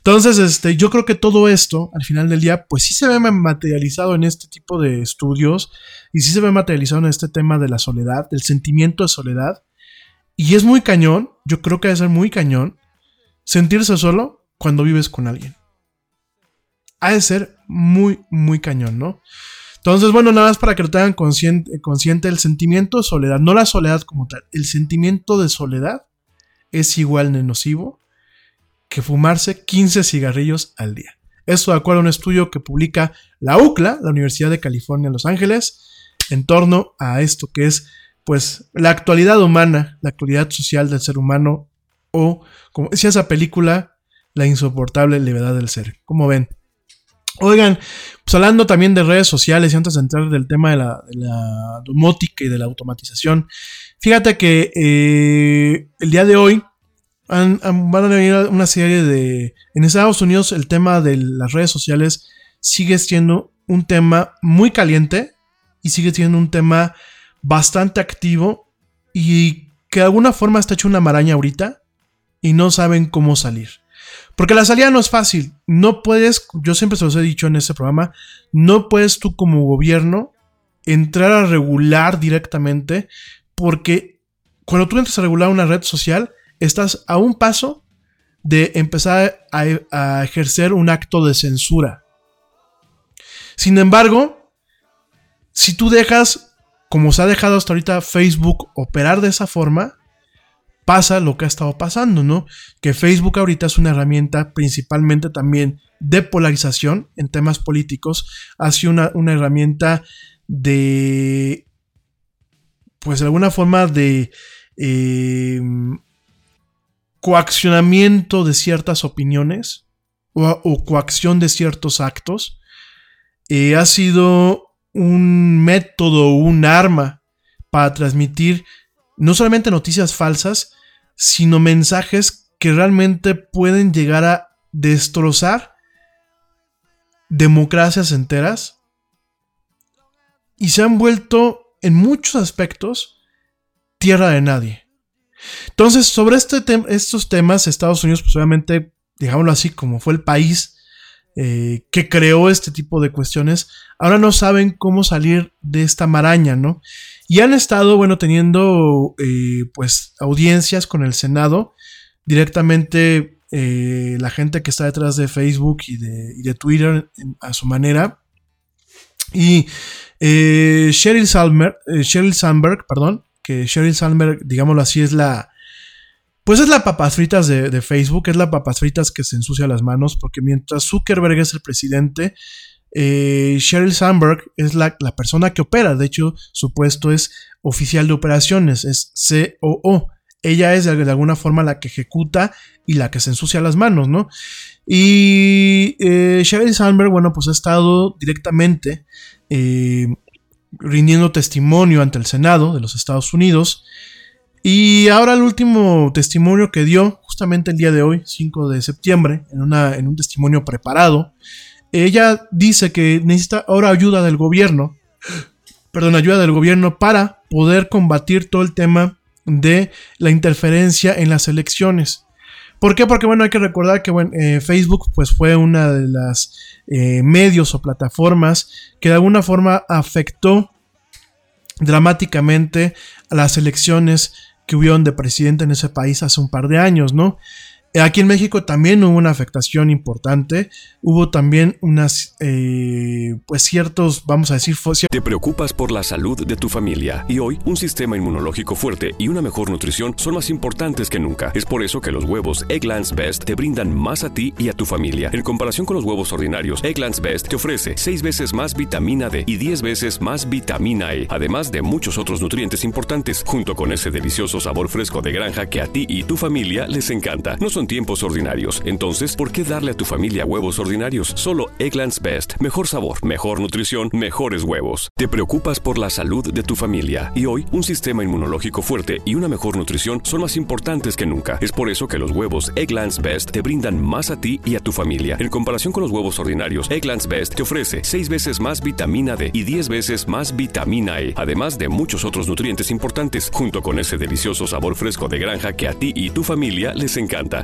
Entonces, yo creo que todo esto, al final del día, pues sí se ve materializado en este tipo de estudios y sí se ve materializado en este tema de la soledad, del sentimiento de soledad. Y es muy cañón, yo creo que debe ser muy cañón, sentirse solo cuando vives con alguien. Ha de ser muy, muy cañón, ¿no? Entonces, bueno, nada más para que lo tengan consciente el sentimiento de soledad, no la soledad como tal, el sentimiento de soledad es igual de nocivo que fumarse 15 cigarrillos al día. Esto de acuerdo a un estudio que publica la UCLA, la Universidad de California en Los Ángeles, en torno a esto que es, pues, la actualidad humana, la actualidad social del ser humano, o, como decía esa película, la insoportable levedad del ser. ¿Cómo ven? Oigan, pues hablando también de redes sociales y antes de entrar del tema de la domótica y de la automatización, fíjate que el día de hoy van a venir una serie de... En Estados Unidos el tema de las redes sociales sigue siendo un tema muy caliente y sigue siendo un tema bastante activo y que de alguna forma está hecho una maraña ahorita y no saben cómo salir. Porque la salida no es fácil. No puedes, yo siempre se los he dicho en este programa, no puedes tú como gobierno entrar a regular directamente, porque cuando tú entras a regular una red social, estás a un paso de empezar a ejercer un acto de censura. Sin embargo, si tú dejas, como se ha dejado hasta ahorita Facebook operar de esa forma, pasa lo que ha estado pasando, ¿no? Que Facebook ahorita es una herramienta principalmente también de polarización en temas políticos. Ha sido una herramienta de, pues de alguna forma de coaccionamiento de ciertas opiniones o coacción de ciertos actos. Ha sido un método, un arma para transmitir no solamente noticias falsas, sino mensajes que realmente pueden llegar a destrozar democracias enteras y se han vuelto en muchos aspectos tierra de nadie. Entonces, sobre estos temas, Estados Unidos, pues obviamente, digámoslo así, como fue el país que creó este tipo de cuestiones, ahora no saben cómo salir de esta maraña, ¿no? Y han estado, bueno, teniendo pues audiencias con el Senado, directamente la gente que está detrás de Facebook y de Twitter a su manera. Y Sheryl Sandberg, que Sheryl Sandberg, digámoslo así, es la papas fritas de Facebook, es la papas fritas que se ensucia las manos, porque mientras Zuckerberg es el presidente, Sheryl Sandberg es la persona que opera. De hecho, su puesto es oficial de operaciones, es COO. Ella es de alguna forma la que ejecuta y la que se ensucia las manos, ¿no? Y Sheryl Sandberg, bueno, pues ha estado directamente rindiendo testimonio ante el Senado de los Estados Unidos. Y ahora el último testimonio que dio, justamente el día de hoy, 5 de septiembre, en un testimonio preparado, ella dice que necesita ahora ayuda del gobierno para poder combatir todo el tema de la interferencia en las elecciones. ¿Por qué? Porque, bueno, hay que recordar que Facebook pues fue una de las medios o plataformas que de alguna forma afectó dramáticamente a las elecciones que hubieron de presidente en ese país hace un par de años, ¿no? Aquí en México también hubo una afectación importante, hubo también unas, pues ciertos, vamos a decir... Te preocupas por la salud de tu familia y hoy un sistema inmunológico fuerte y una mejor nutrición son más importantes que nunca. Es por eso que los huevos Eggland's Best te brindan más a ti y a tu familia. En comparación con los huevos ordinarios, Eggland's Best te ofrece 6 veces más vitamina D y 10 veces más vitamina E, además de muchos otros nutrientes importantes, junto con ese delicioso sabor fresco de granja que a ti y tu familia les encanta. No son tiempos ordinarios, entonces, ¿por qué darle a tu familia huevos ordinarios? Solo Eggland's Best. Mejor sabor, mejor nutrición, mejores huevos. Te preocupas por la salud de tu familia y hoy un sistema inmunológico fuerte y una mejor nutrición son más importantes que nunca. Es por eso que los huevos Eggland's Best te brindan más a ti y a tu familia. En comparación con los huevos ordinarios, Eggland's Best te ofrece 6 veces más vitamina D y 10 veces más vitamina E, además de muchos otros nutrientes importantes, junto con ese delicioso sabor fresco de granja que a ti y tu familia les encanta.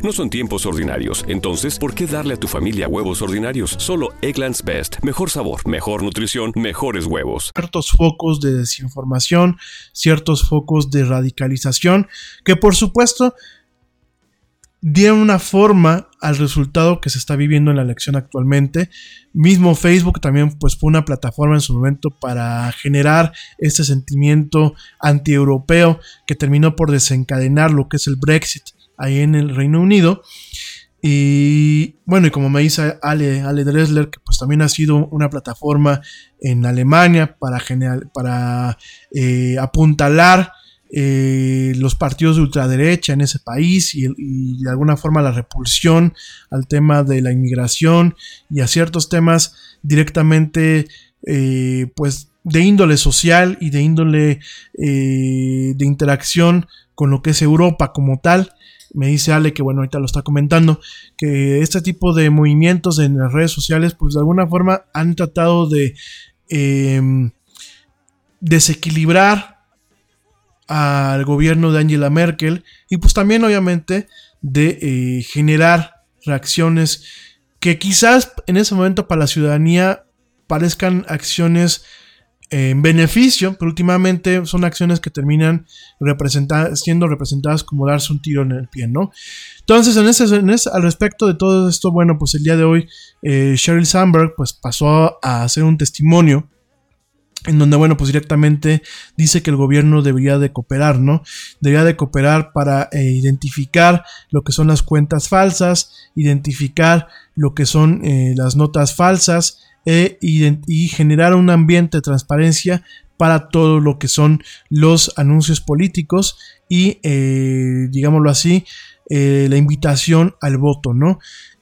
No son tiempos ordinarios, entonces, ¿por qué darle a tu familia huevos ordinarios? Solo Eggland's Best. Mejor sabor, mejor nutrición, mejores huevos. Ciertos focos de desinformación, ciertos focos de radicalización, que por supuesto dieron una forma al resultado que se está viviendo en la elección actualmente. Mismo Facebook también pues fue una plataforma en su momento para generar este sentimiento antieuropeo que terminó por desencadenar lo que es el Brexit ahí en el Reino Unido. Y bueno, y como me dice Ale Dressler, que pues también ha sido una plataforma en Alemania para apuntalar los partidos de ultraderecha en ese país y de alguna forma la repulsión al tema de la inmigración y a ciertos temas directamente pues de índole social y de índole de interacción con lo que es Europa como tal. Me dice Ale que bueno, ahorita lo está comentando, que este tipo de movimientos en las redes sociales pues de alguna forma han tratado de desequilibrar al gobierno de Angela Merkel y pues también obviamente de generar reacciones que quizás en ese momento para la ciudadanía parezcan acciones en beneficio, pero últimamente son acciones que terminan siendo representadas como darse un tiro en el pie, ¿no? Entonces, al respecto de todo esto, bueno, pues el día de hoy Sheryl Sandberg pues pasó a hacer un testimonio en donde, bueno, pues directamente dice que el gobierno debería de cooperar, ¿no? Debería de cooperar para identificar lo que son las cuentas falsas, identificar lo que son las notas falsas y generar un ambiente de transparencia para todo lo que son los anuncios políticos y, digámoslo así, la invitación al voto, ¿no?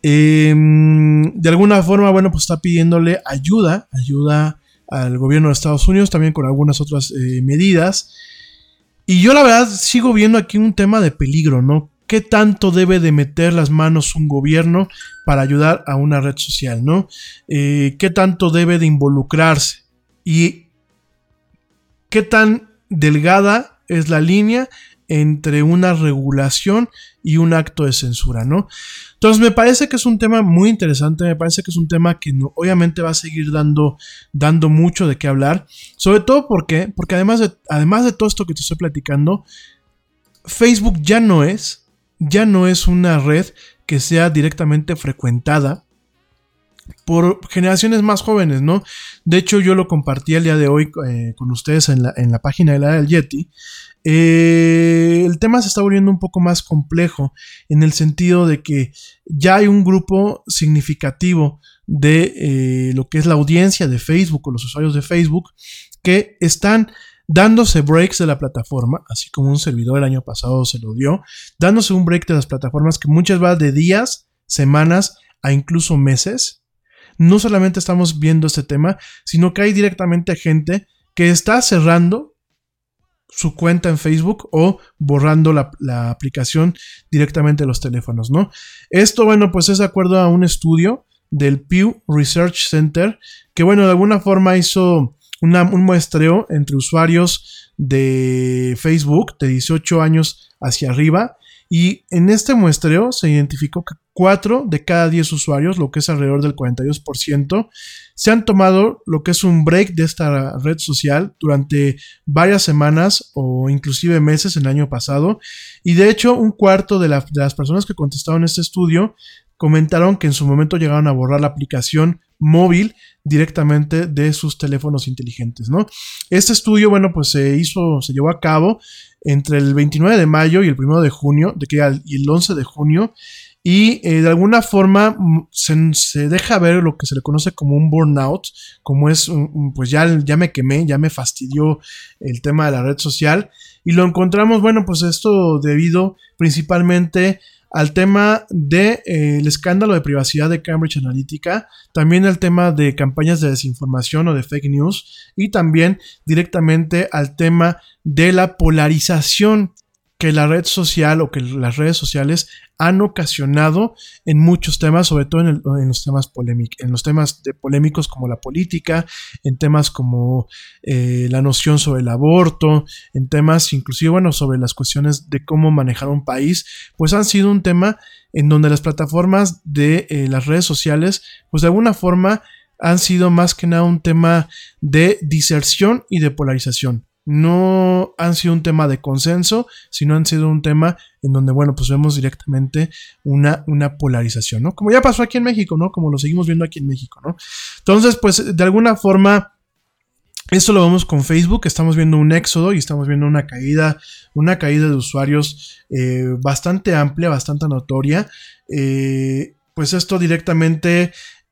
De alguna forma, bueno, pues está pidiéndole ayuda al gobierno de Estados Unidos, también con algunas otras medidas. Y yo la verdad sigo viendo aquí un tema de peligro, ¿no? ¿Qué tanto debe de meter las manos un gobierno para ayudar a una red social, ¿no? ¿Qué tanto debe de involucrarse? Y ¿qué tan delgada es la línea entre una regulación y un acto de censura, ¿no? Entonces me parece que es un tema muy interesante, me parece que es un tema que obviamente va a seguir dando mucho de qué hablar, sobre todo porque además de todo esto que te estoy platicando, Facebook ya no es una red que sea directamente frecuentada por generaciones más jóvenes, ¿no? De hecho, yo lo compartí el día de hoy con ustedes en la página de la del Yeti. El tema se está volviendo un poco más complejo en el sentido de que ya hay un grupo significativo de lo que es la audiencia de Facebook o los usuarios de Facebook que están dándose breaks de la plataforma, así como un servidor el año pasado se lo dio, dándose un break de las plataformas que muchas van de días, semanas a incluso meses. No solamente estamos viendo este tema, sino que hay directamente gente que está cerrando su cuenta en Facebook o borrando la aplicación directamente de los teléfonos, ¿no? Esto, bueno, pues es de acuerdo a un estudio del Pew Research Center que, bueno, de alguna forma hizo un muestreo entre usuarios de Facebook de 18 años hacia arriba, y en este muestreo se identificó que 4 de cada 10 usuarios, lo que es alrededor del 42%, se han tomado lo que es un break de esta red social durante varias semanas o inclusive meses el año pasado. Y de hecho, un cuarto de las personas que contestaron este estudio comentaron que en su momento llegaron a borrar la aplicación móvil directamente de sus teléfonos inteligentes, ¿no? Este estudio, bueno, pues se llevó a cabo entre el 29 de mayo y el 1 de junio, y el 11 de junio, y de alguna forma se deja ver lo que se le conoce como un burnout, como es, pues ya me quemé, ya me fastidió el tema de la red social, y lo encontramos, bueno, pues esto debido principalmente al tema del escándalo de privacidad de Cambridge Analytica, también al tema de campañas de desinformación o de fake news, y también directamente al tema de la polarización que la red social o que las redes sociales han ocasionado en muchos temas, sobre todo en los temas polémicos como la política, en temas como la noción sobre el aborto, en temas inclusive, bueno, sobre las cuestiones de cómo manejar un país, pues han sido un tema en donde las plataformas de las redes sociales, pues de alguna forma han sido más que nada un tema de diserción y de polarización. No han sido un tema de consenso, sino han sido un tema en donde, bueno, pues vemos directamente una polarización, ¿no? Como ya pasó aquí en México, ¿no? Como lo seguimos viendo aquí en México, ¿no? Entonces, pues, de alguna forma, esto lo vemos con Facebook, estamos viendo un éxodo y estamos viendo una caída de usuarios bastante amplia, bastante notoria. Pues esto directamente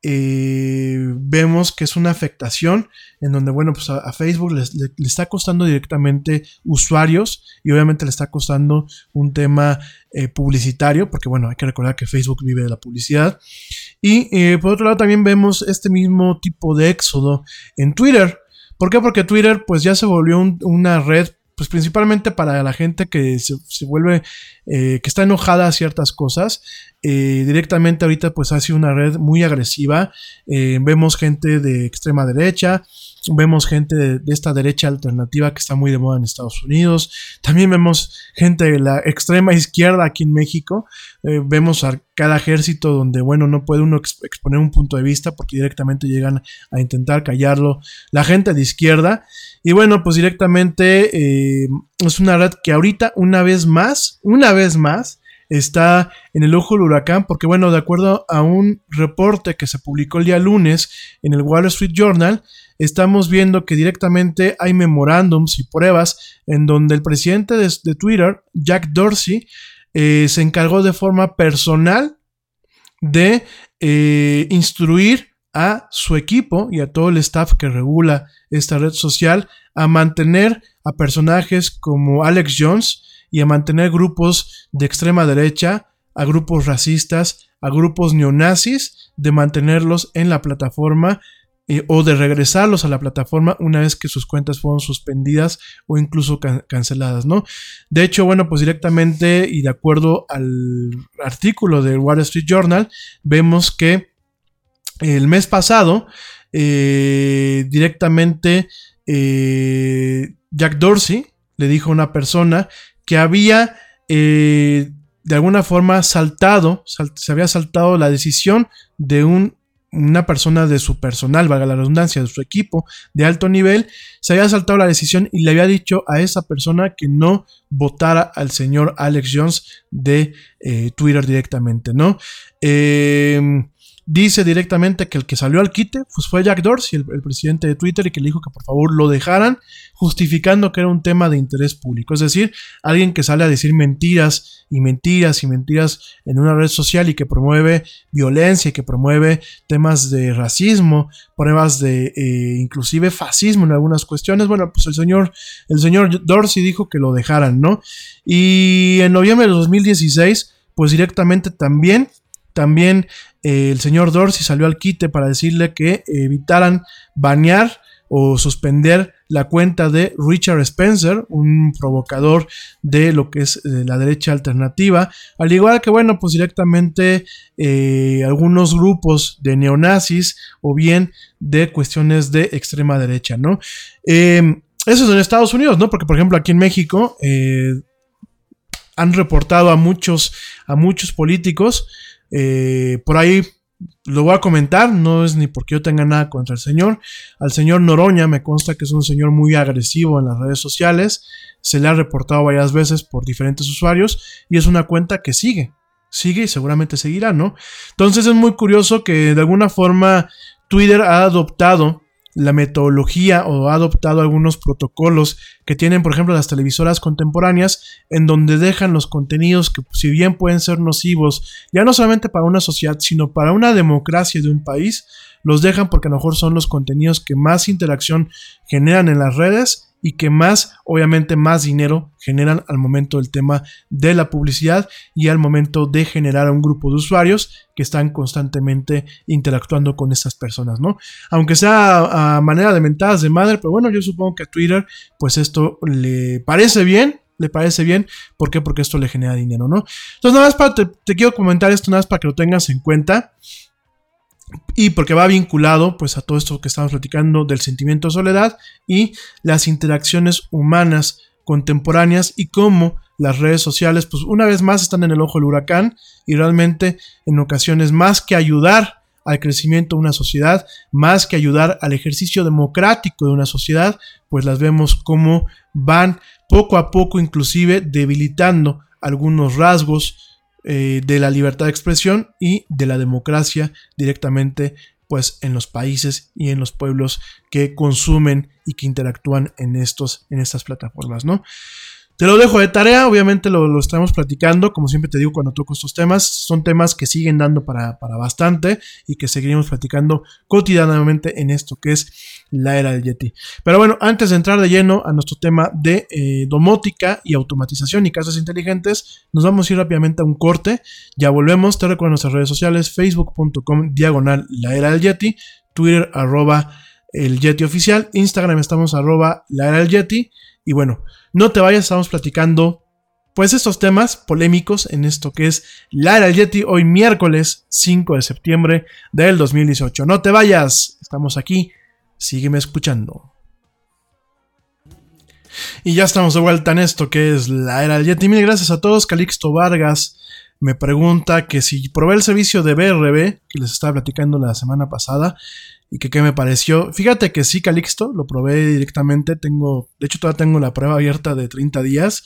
vemos que es una afectación en donde, bueno, pues a Facebook le está costando directamente usuarios y obviamente le está costando un tema publicitario, porque bueno, hay que recordar que Facebook vive de la publicidad. Y por otro lado también vemos este mismo tipo de éxodo en Twitter. ¿Por qué? Porque Twitter pues ya se volvió una red pues principalmente para la gente que se vuelve, que está enojada a ciertas cosas. Directamente ahorita pues ha sido una red muy agresiva. Vemos gente de extrema derecha, vemos gente de esta derecha alternativa que está muy de moda en Estados Unidos. También vemos gente de la extrema izquierda aquí en México. Vemos a cada ejército donde, bueno, no puede uno exponer un punto de vista porque directamente llegan a intentar callarlo la gente de izquierda. Y bueno, pues directamente es una red que ahorita una vez más está en el ojo del huracán porque, bueno, de acuerdo a un reporte que se publicó el día lunes en el Wall Street Journal, estamos viendo que directamente hay memorándums y pruebas en donde el presidente de Twitter, Jack Dorsey, se encargó de forma personal de instruir a su equipo y a todo el staff que regula esta red social a mantener a personajes como Alex Jones y a mantener grupos de extrema derecha, a grupos racistas, a grupos neonazis, de mantenerlos en la plataforma o de regresarlos a la plataforma una vez que sus cuentas fueron suspendidas o incluso canceladas, ¿no? De hecho, bueno, pues directamente y de acuerdo al artículo del Wall Street Journal, vemos que el mes pasado directamente Jack Dorsey le dijo a una persona que había de alguna forma se había saltado la decisión de una persona de su personal, valga la redundancia, de su equipo de alto nivel. Se había saltado la decisión y le había dicho a esa persona que no votara al señor Alex Jones de Twitter directamente, ¿no? Dice directamente que el que salió al quite pues fue Jack Dorsey, el presidente de Twitter, y que le dijo que por favor lo dejaran, justificando que era un tema de interés público. Es decir, alguien que sale a decir mentiras y mentiras y mentiras en una red social y que promueve violencia y que promueve temas de racismo, pruebas de inclusive fascismo en algunas cuestiones. Bueno, pues el señor Dorsey dijo que lo dejaran, ¿no? Y en noviembre de 2016 pues directamente también el señor Dorsey salió al quite para decirle que evitaran banear o suspender la cuenta de Richard Spencer, un provocador de lo que es la derecha alternativa, al igual que, bueno, pues directamente algunos grupos de neonazis o bien de cuestiones de extrema derecha, ¿no? Eso es en Estados Unidos, ¿no? Porque, por ejemplo, aquí en México han reportado a muchos políticos. Por ahí lo voy a comentar, no es ni porque yo tenga nada contra el señor. Al señor Noroña me consta que es un señor muy agresivo en las redes sociales, se le ha reportado varias veces por diferentes usuarios y es una cuenta que sigue y seguramente seguirá, ¿no? Entonces es muy curioso que de alguna forma Twitter ha adoptado la metodología o ha adoptado algunos protocolos que tienen, por ejemplo, las televisoras contemporáneas, en donde dejan los contenidos que, si bien pueden ser nocivos, ya no solamente para una sociedad, sino para una democracia de un país, los dejan porque a lo mejor son los contenidos que más interacción generan en las redes y que más, obviamente, más dinero generan al momento del tema de la publicidad y al momento de generar a un grupo de usuarios que están constantemente interactuando con estas personas, ¿no? Aunque sea a manera de mentadas de madre, pero bueno, yo supongo que a Twitter, pues esto le parece bien le parece bien. ¿Por qué? Porque esto le genera dinero, ¿no? Entonces nada más te quiero comentar esto, nada más para que lo tengas en cuenta. Y porque va vinculado pues a todo esto que estamos platicando del sentimiento de soledad y las interacciones humanas contemporáneas y cómo las redes sociales pues una vez más están en el ojo del huracán y realmente en ocasiones más que ayudar al crecimiento de una sociedad, más que ayudar al ejercicio democrático de una sociedad, pues las vemos como van poco a poco inclusive debilitando algunos rasgos de la libertad de expresión y de la democracia directamente pues en los países y en los pueblos que consumen y que interactúan en estas plataformas, ¿no? Te lo dejo de tarea, obviamente lo estamos platicando, como siempre te digo cuando toco estos temas, son temas que siguen dando para bastante y que seguiremos platicando cotidianamente en esto que es la era del Yeti. Pero bueno, antes de entrar de lleno a nuestro tema de domótica y automatización y casas inteligentes, nos vamos a ir rápidamente a un corte, ya volvemos, te recuerdo nuestras redes sociales, facebook.com/la era del Yeti, Twitter @el Yeti oficial, Instagram estamos @la era del Yeti. Y bueno, no te vayas, estamos platicando pues estos temas polémicos en esto que es la era del Yeti, hoy miércoles 5 de septiembre del 2018. No te vayas, estamos aquí, sígueme escuchando. Y ya estamos de vuelta en esto que es la era del Yeti. Mil gracias a todos. Calixto Vargas me pregunta que si probé el servicio de BRB, que les estaba platicando la semana pasada, y que qué me pareció. Fíjate que sí, Calixto, lo probé directamente. De hecho, todavía tengo la prueba abierta de 30 días.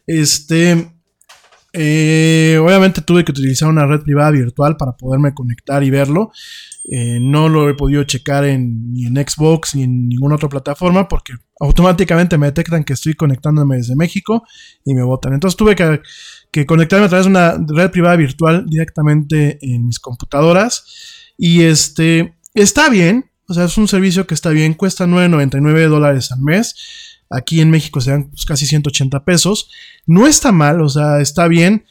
Obviamente tuve que utilizar una red privada virtual para poderme conectar y verlo. No lo he podido checar ni en Xbox ni en ninguna otra plataforma porque automáticamente me detectan que estoy conectándome desde México y me botan. Entonces tuve que conectarme a través de una red privada virtual directamente en mis computadoras. Y está bien, o sea, es un servicio que está bien, cuesta $9.99 al mes. Aquí en México se dan pues, casi 180 pesos. No está mal, o sea, está bien.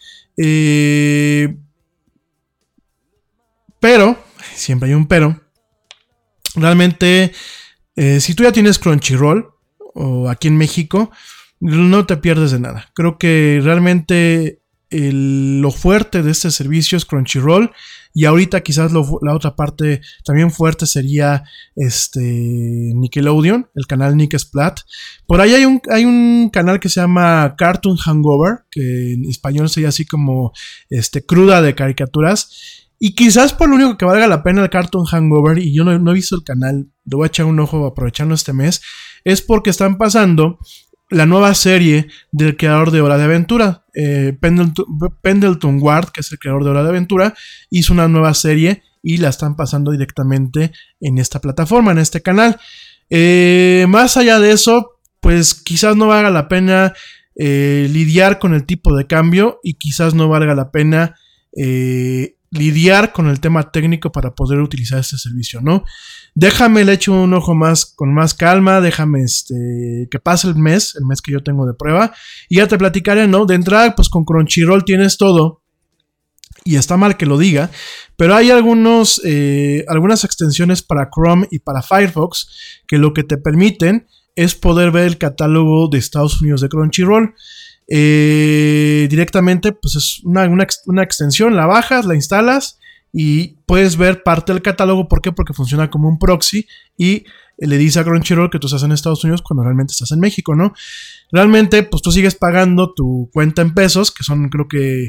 Pero, siempre hay un pero. Realmente, si tú ya tienes Crunchyroll, o aquí en México, no te pierdes de nada. Creo que realmente lo fuerte de este servicio es Crunchyroll. Y ahorita quizás la otra parte también fuerte sería Nickelodeon, el canal Nick Splat. Por ahí hay un canal que se llama Cartoon Hangover, que en español sería así como cruda de caricaturas. Y quizás por lo único que valga la pena el Cartoon Hangover, y yo no he visto el canal, le voy a echar un ojo aprovechando este mes, es porque están pasando la nueva serie del creador de Hora de Aventura. Pendleton Ward, que es el creador de Hora de Aventura, hizo una nueva serie y la están pasando directamente en esta plataforma, en este canal. Más allá de eso, pues quizás no valga la pena lidiar con el tipo de cambio y quizás no valga la pena lidiar con el tema técnico para poder utilizar este servicio, ¿no? Déjame le echo un ojo con más calma, déjame que pase el mes que yo tengo de prueba y ya te platicaré, ¿no? De entrada, pues con Crunchyroll tienes todo y está mal que lo diga, pero hay algunas extensiones para Chrome y para Firefox que lo que te permiten es poder ver el catálogo de Estados Unidos de Crunchyroll. Directamente, pues es una extensión, la bajas, la instalas y puedes ver parte del catálogo. ¿Por qué? Porque funciona como un proxy y le dice a Crunchyroll que tú estás en Estados Unidos cuando realmente estás en México, ¿no? Realmente, pues tú sigues pagando tu cuenta en pesos, que son creo que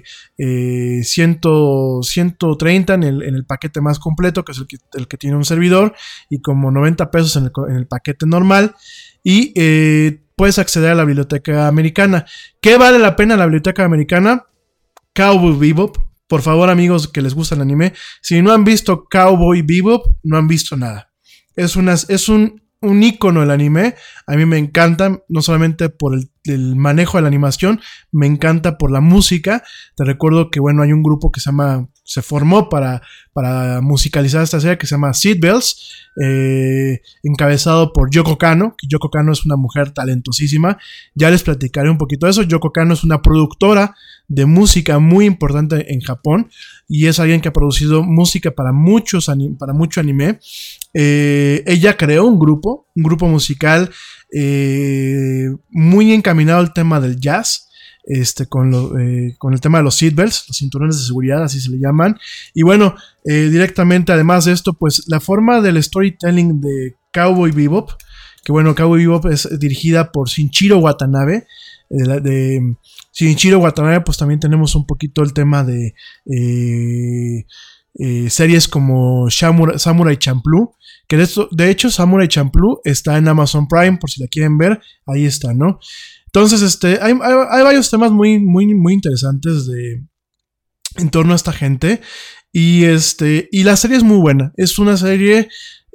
130 en el paquete más completo, que es el que tiene un servidor, y como 90 pesos en el paquete normal, y puedes acceder a la biblioteca americana. ¿Qué vale la pena la biblioteca americana? Cowboy Bebop. Por favor, amigos que les gusta el anime, si no han visto Cowboy Bebop, no han visto nada. Es un ícono del anime. A mí me encanta, no solamente por el manejo de la animación, me encanta por la música. Te recuerdo que, bueno, hay un grupo que se formó para musicalizar esta serie que se llama Seatbelts, encabezado por Yoko Kanno, que Yoko Kanno es una mujer talentosísima. Ya les platicaré un poquito de eso. Yoko Kanno es una productora de música muy importante en Japón y es alguien que ha producido música para mucho anime. Ella creó un grupo musical muy encaminado al tema del jazz, con el tema de los seatbelts, los cinturones de seguridad, así se le llaman. Y bueno, directamente, además de esto, pues la forma del storytelling de Cowboy Bebop, que bueno, Cowboy Bebop es dirigida por Shinichiro Watanabe. De Shinichiro Watanabe, pues también tenemos un poquito el tema de series como Samurai Champloo, que de hecho Samurai Champloo está en Amazon Prime, por si la quieren ver, ahí está, ¿no? Entonces, hay varios temas muy, muy, muy interesantes en torno a esta gente, y la serie es muy buena, es una serie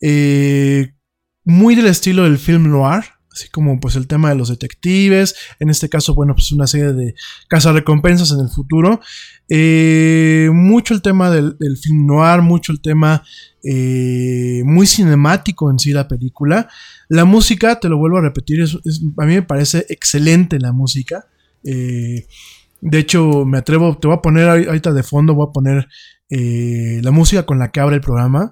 muy del estilo del film noir, así como pues el tema de los detectives, en este caso, bueno, pues una serie de cazarrecompensas en el futuro, mucho el tema del film noir, mucho el tema muy cinemático en sí la película. La música, te lo vuelvo a repetir, a mí me parece excelente la música. De hecho, me atrevo, te voy a poner ahorita de fondo, voy a poner la música con la que abre el programa.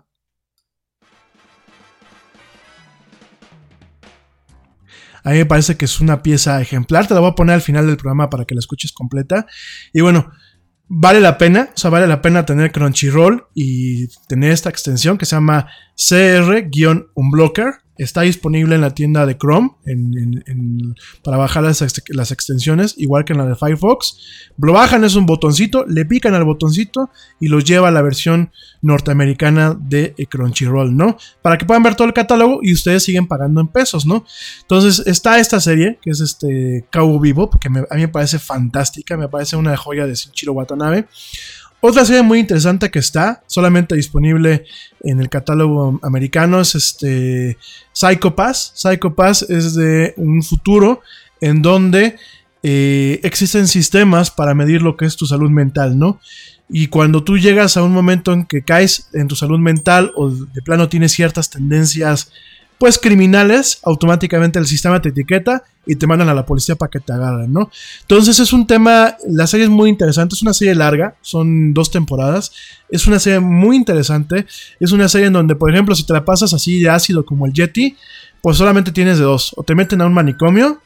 A mí me parece que es una pieza ejemplar. Te la voy a poner al final del programa para que la escuches completa. Y bueno, vale la pena. O sea, vale la pena tener Crunchyroll y tener esta extensión que se llama CR-Unblocker. Está disponible en la tienda de Chrome para bajar las extensiones, igual que en la de Firefox. Lo bajan, es un botoncito, le pican al botoncito y los lleva a la versión norteamericana de Crunchyroll, ¿no? Para que puedan ver todo el catálogo y ustedes siguen pagando en pesos, ¿no? Entonces está esta serie, que es Cowboy Bebop, que a mí me parece fantástica, me parece una joya de Shinichiro Watanabe. Otra serie muy interesante que está solamente disponible en el catálogo americano es Psycho Pass. Psycho Pass es de un futuro en donde existen sistemas para medir lo que es tu salud mental, ¿no? Y cuando tú llegas a un momento en que caes en tu salud mental o de plano tienes ciertas tendencias pues criminales, automáticamente el sistema te etiqueta y te mandan a la policía para que te agarren, ¿no? Entonces es un tema, la serie es muy interesante, es una serie larga, son 2 temporadas, es una serie muy interesante, es una serie en donde, por ejemplo, si te la pasas así de ácido como el Yeti, pues solamente tienes de 2, o te meten a un manicomio,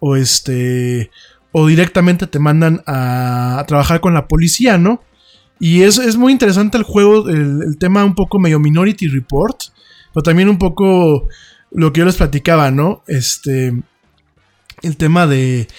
o directamente te mandan a trabajar con la policía, ¿no? Y es muy interesante el juego, el tema un poco medio Minority Report, pero también un poco lo que yo les platicaba, ¿no? El tema de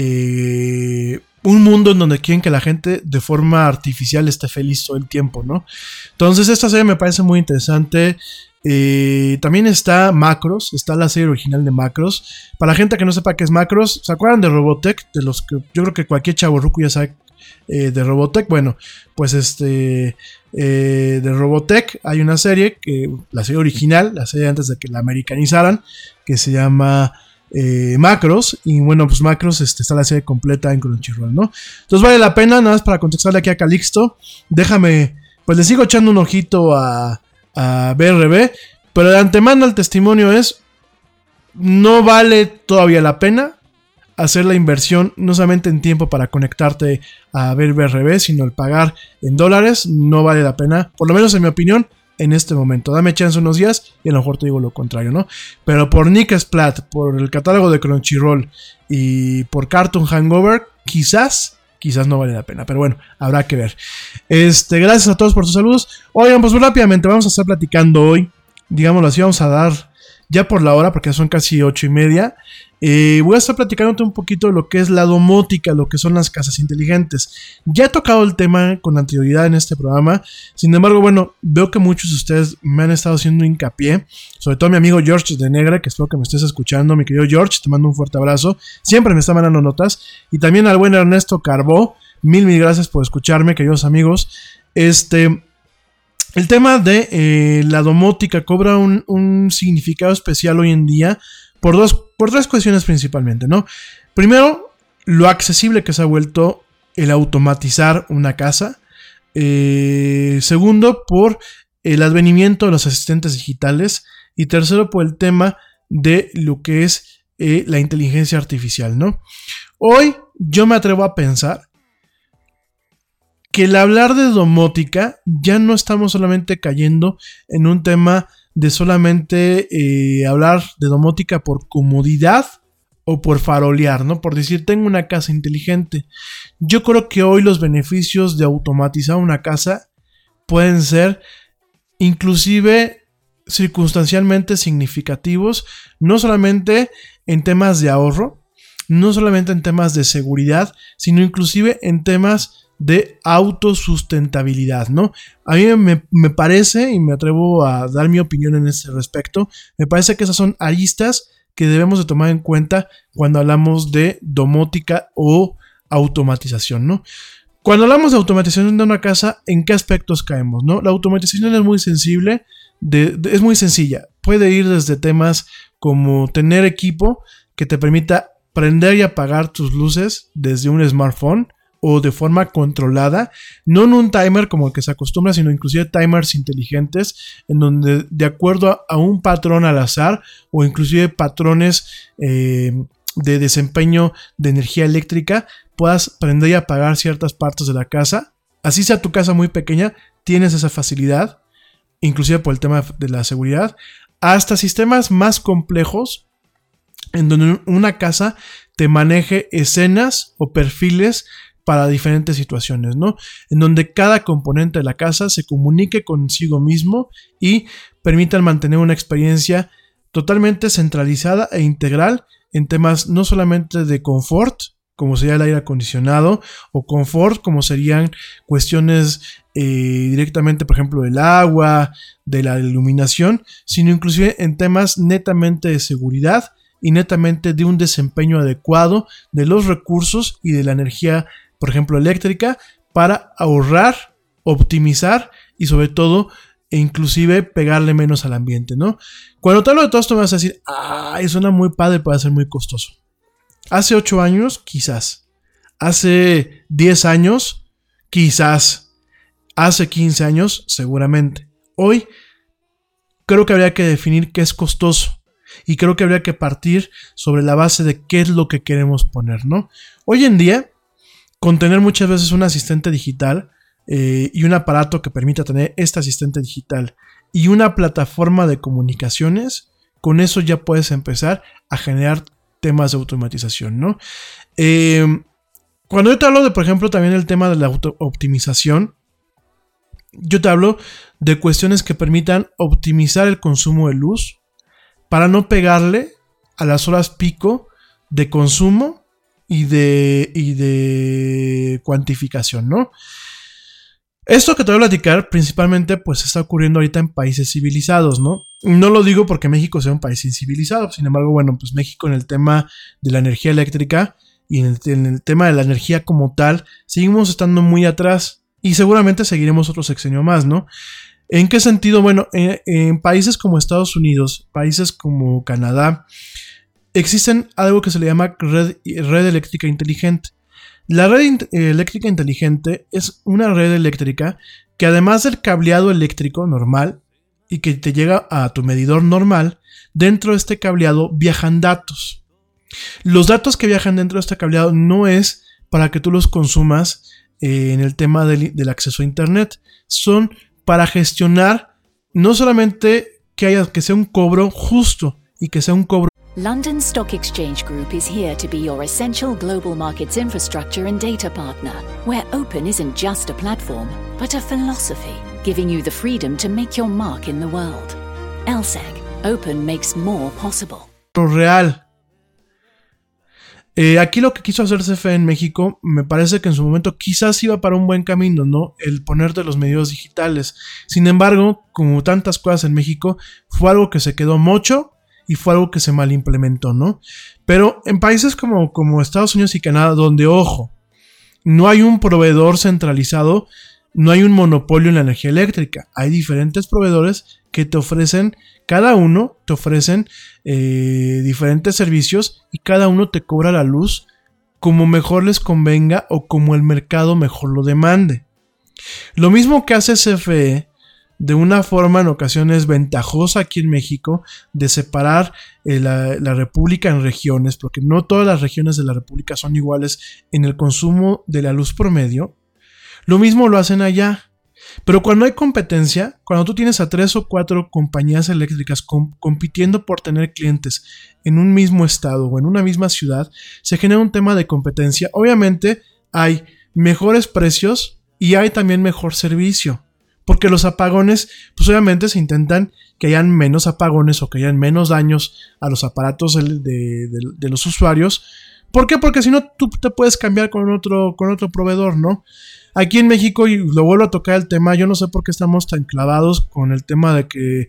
un mundo en donde quieren que la gente de forma artificial esté feliz todo el tiempo, ¿no? Entonces esta serie me parece muy interesante. También está Macros, está la serie original de Macros. Para la gente que no sepa qué es Macros, ¿se acuerdan de Robotech? De los que yo creo que cualquier chavorruco ya sabe de Robotech. Bueno, pues de Robotech hay una serie, la serie original, la serie antes de que la americanizaran, que se llama Macros. Y bueno, pues Macros está la serie completa en Crunchyroll, ¿no? Entonces vale la pena, nada más para contestarle aquí a Calixto. Déjame, pues le sigo echando un ojito a BRB, pero de antemano el testimonio es: no vale todavía la pena hacer la inversión, no solamente en tiempo para conectarte a ver BRB, sino el pagar en dólares. No vale la pena, por lo menos en mi opinión, en este momento. Dame chance unos días y a lo mejor te digo lo contrario, ¿no? Pero por Nick Splat, por el catálogo de Crunchyroll y por Cartoon Hangover, quizás no vale la pena, pero bueno, habrá que ver. Gracias a todos por sus saludos. Oigan, pues rápidamente vamos a estar platicando hoy, digámoslo así, vamos a dar ya por la hora, porque son casi 8:30. Voy a estar platicándote un poquito de lo que es la domótica, lo que son las casas inteligentes. Ya he tocado el tema con anterioridad en este programa. Sin embargo, bueno, veo que muchos de ustedes me han estado haciendo hincapié, sobre todo mi amigo George de Negra, que espero que me estés escuchando. Mi querido George, te mando un fuerte abrazo. Siempre me está mandando notas. Y también al buen Ernesto Carbó. Mil gracias por escucharme, queridos amigos. El tema de la domótica cobra un significado especial hoy en día por 3 cuestiones principalmente, ¿no? Primero, lo accesible que se ha vuelto el automatizar una casa. Segundo, por el advenimiento de los asistentes digitales. Y tercero, por el tema de lo que es la inteligencia artificial, ¿no? Hoy yo me atrevo a pensar que el hablar de domótica ya no estamos solamente cayendo en un tema de solamente hablar de domótica por comodidad o por farolear, ¿no? Por decir, tengo una casa inteligente. Yo creo que hoy los beneficios de automatizar una casa pueden ser inclusive circunstancialmente significativos, no solamente en temas de ahorro, no solamente en temas de seguridad, sino inclusive en temas de autosustentabilidad, ¿no? A mí me parece, y me atrevo a dar mi opinión en ese respecto, me parece que esas son aristas que debemos de tomar en cuenta cuando hablamos de domótica o automatización, ¿no? Cuando hablamos de automatización de una casa, ¿en qué aspectos caemos, no? La automatización es muy sensible, es muy sencilla. Puede ir desde temas como tener equipo que te permita prender y apagar tus luces desde un smartphone o de forma controlada, no en un timer como el que se acostumbra, sino inclusive timers inteligentes en donde de acuerdo a un patrón al azar o inclusive patrones de desempeño de energía eléctrica puedas prender y apagar ciertas partes de la casa. Así sea tu casa muy pequeña, tienes esa facilidad, inclusive por el tema de la seguridad, hasta sistemas más complejos en donde una casa te maneje escenas o perfiles para diferentes situaciones, ¿no? En donde cada componente de la casa se comunique consigo mismo y permitan mantener una experiencia totalmente centralizada e integral en temas no solamente de confort, como sería el aire acondicionado, o confort, como serían cuestiones directamente, por ejemplo, del agua, de la iluminación, sino inclusive en temas netamente de seguridad y netamente de un desempeño adecuado de los recursos y de la energía, por ejemplo, eléctrica, para ahorrar, optimizar y sobre todo e inclusive pegarle menos al ambiente, ¿no? Cuando te hablo de todo esto me vas a decir, suena muy padre, puede ser muy costoso. Hace 8 años, quizás. Hace 10 años, quizás. Hace 15 años, seguramente. Hoy, creo que habría que definir qué es costoso. Y creo que habría que partir sobre la base de qué es lo que queremos poner, ¿no? Hoy en día, con tener muchas veces un asistente digital y un aparato que permita tener este asistente digital y una plataforma de comunicaciones, con eso ya puedes empezar a generar temas de automatización, ¿no? Cuando yo te hablo de, por ejemplo, también el tema de la optimización, yo te hablo de cuestiones que permitan optimizar el consumo de luz para no pegarle a las horas pico de consumo y de cuantificación, ¿no? Esto que te voy a platicar principalmente pues está ocurriendo ahorita en países civilizados, ¿no? No lo digo porque México sea un país incivilizado, sin embargo, bueno, pues México en el tema de la energía eléctrica y en el tema de la energía como tal, seguimos estando muy atrás y seguramente seguiremos otro sexenio más, ¿no? ¿En qué sentido? Bueno, en países como Estados Unidos, países como Canadá, existen algo que se le llama red eléctrica inteligente. La red eléctrica inteligente es una red eléctrica que además del cableado eléctrico normal y que te llega a tu medidor normal, dentro de este cableado viajan datos. Los datos que viajan dentro de este cableado no es para que tú los consumas en el tema del acceso a internet, son para gestionar no solamente que sea un cobro justo y que sea un cobro. London Stock Exchange Group is here to be your essential global markets infrastructure and data partner, where open isn't just a platform, but a philosophy, giving you the freedom to make your mark in the world. LSEG, open makes more possible. Real. Aquí lo que quiso hacer CFE en México, me parece que en su momento quizás iba para un buen camino, ¿no? El ponerte los medios digitales. Sin embargo, como tantas cosas en México, fue algo que se quedó mocho y fue algo que se mal implementó, ¿no? Pero en países como Estados Unidos y Canadá, donde, ojo, no hay un proveedor centralizado, no hay un monopolio en la energía eléctrica. Hay diferentes proveedores que te ofrecen, cada uno te ofrecen diferentes servicios y cada uno te cobra la luz como mejor les convenga o como el mercado mejor lo demande. Lo mismo que hace CFE de una forma en ocasiones ventajosa aquí en México de separar la república en regiones, porque no todas las regiones de la república son iguales en el consumo de la luz promedio. Lo mismo lo hacen allá. Pero cuando hay competencia, cuando tú tienes a 3 o 4 compañías eléctricas compitiendo por tener clientes en un mismo estado o en una misma ciudad, se genera un tema de competencia. Obviamente hay mejores precios y hay también mejor servicio. Porque los apagones, pues obviamente se intentan que hayan menos apagones o que hayan menos daños a los aparatos de los usuarios. ¿Por qué? Porque si no, tú te puedes cambiar con otro proveedor, ¿no? Aquí en México, y lo vuelvo a tocar el tema, yo no sé por qué estamos tan clavados con el tema de que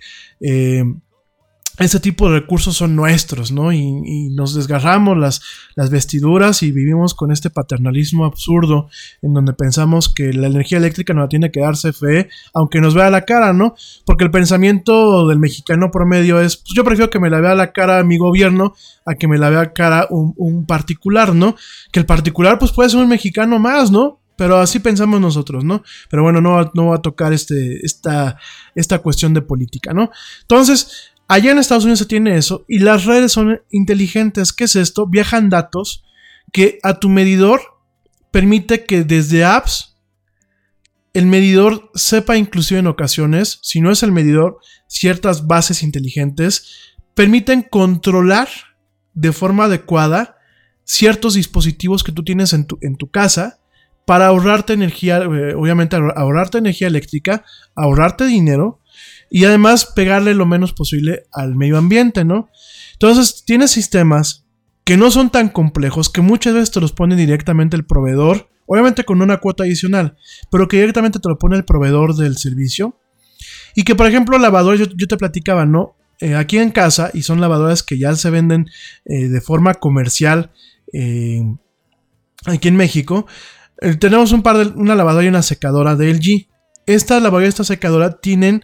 ese tipo de recursos son nuestros, ¿no? Y nos desgarramos las vestiduras y vivimos con este paternalismo absurdo en donde pensamos que la energía eléctrica nos la tiene que dar CFE, aunque nos vea la cara, ¿no? Porque el pensamiento del mexicano promedio es, pues yo prefiero que me la vea la cara mi gobierno a que me la vea cara un particular, ¿no? Que el particular pues puede ser un mexicano más, ¿no? Pero así pensamos nosotros, ¿no? Pero bueno, no va a tocar esta cuestión de política, ¿no? Entonces, allá en Estados Unidos se tiene eso y las redes son inteligentes. ¿Qué es esto? Viajan datos que a tu medidor permite que desde apps el medidor sepa, inclusive en ocasiones, si no es el medidor, ciertas bases inteligentes permiten controlar de forma adecuada ciertos dispositivos que tú tienes en tu casa para ahorrarte energía, obviamente ahorrarte energía eléctrica, ahorrarte dinero y además pegarle lo menos posible al medio ambiente, ¿no? Entonces tienes sistemas que no son tan complejos, que muchas veces te los pone directamente el proveedor, obviamente con una cuota adicional, pero que directamente te lo pone el proveedor del servicio. Y que por ejemplo lavadoras, yo te platicaba, ¿no? Aquí en casa, y son lavadoras que ya se venden de forma comercial aquí en México. Tenemos una lavadora y una secadora de LG. Esta lavadora y esta secadora tienen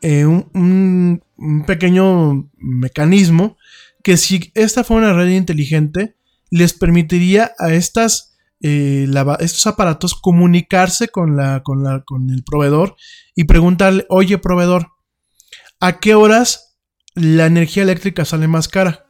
un pequeño mecanismo que si esta fuera una red inteligente les permitiría a estos aparatos comunicarse con el proveedor y preguntarle, oye proveedor, ¿a qué horas la energía eléctrica sale más cara?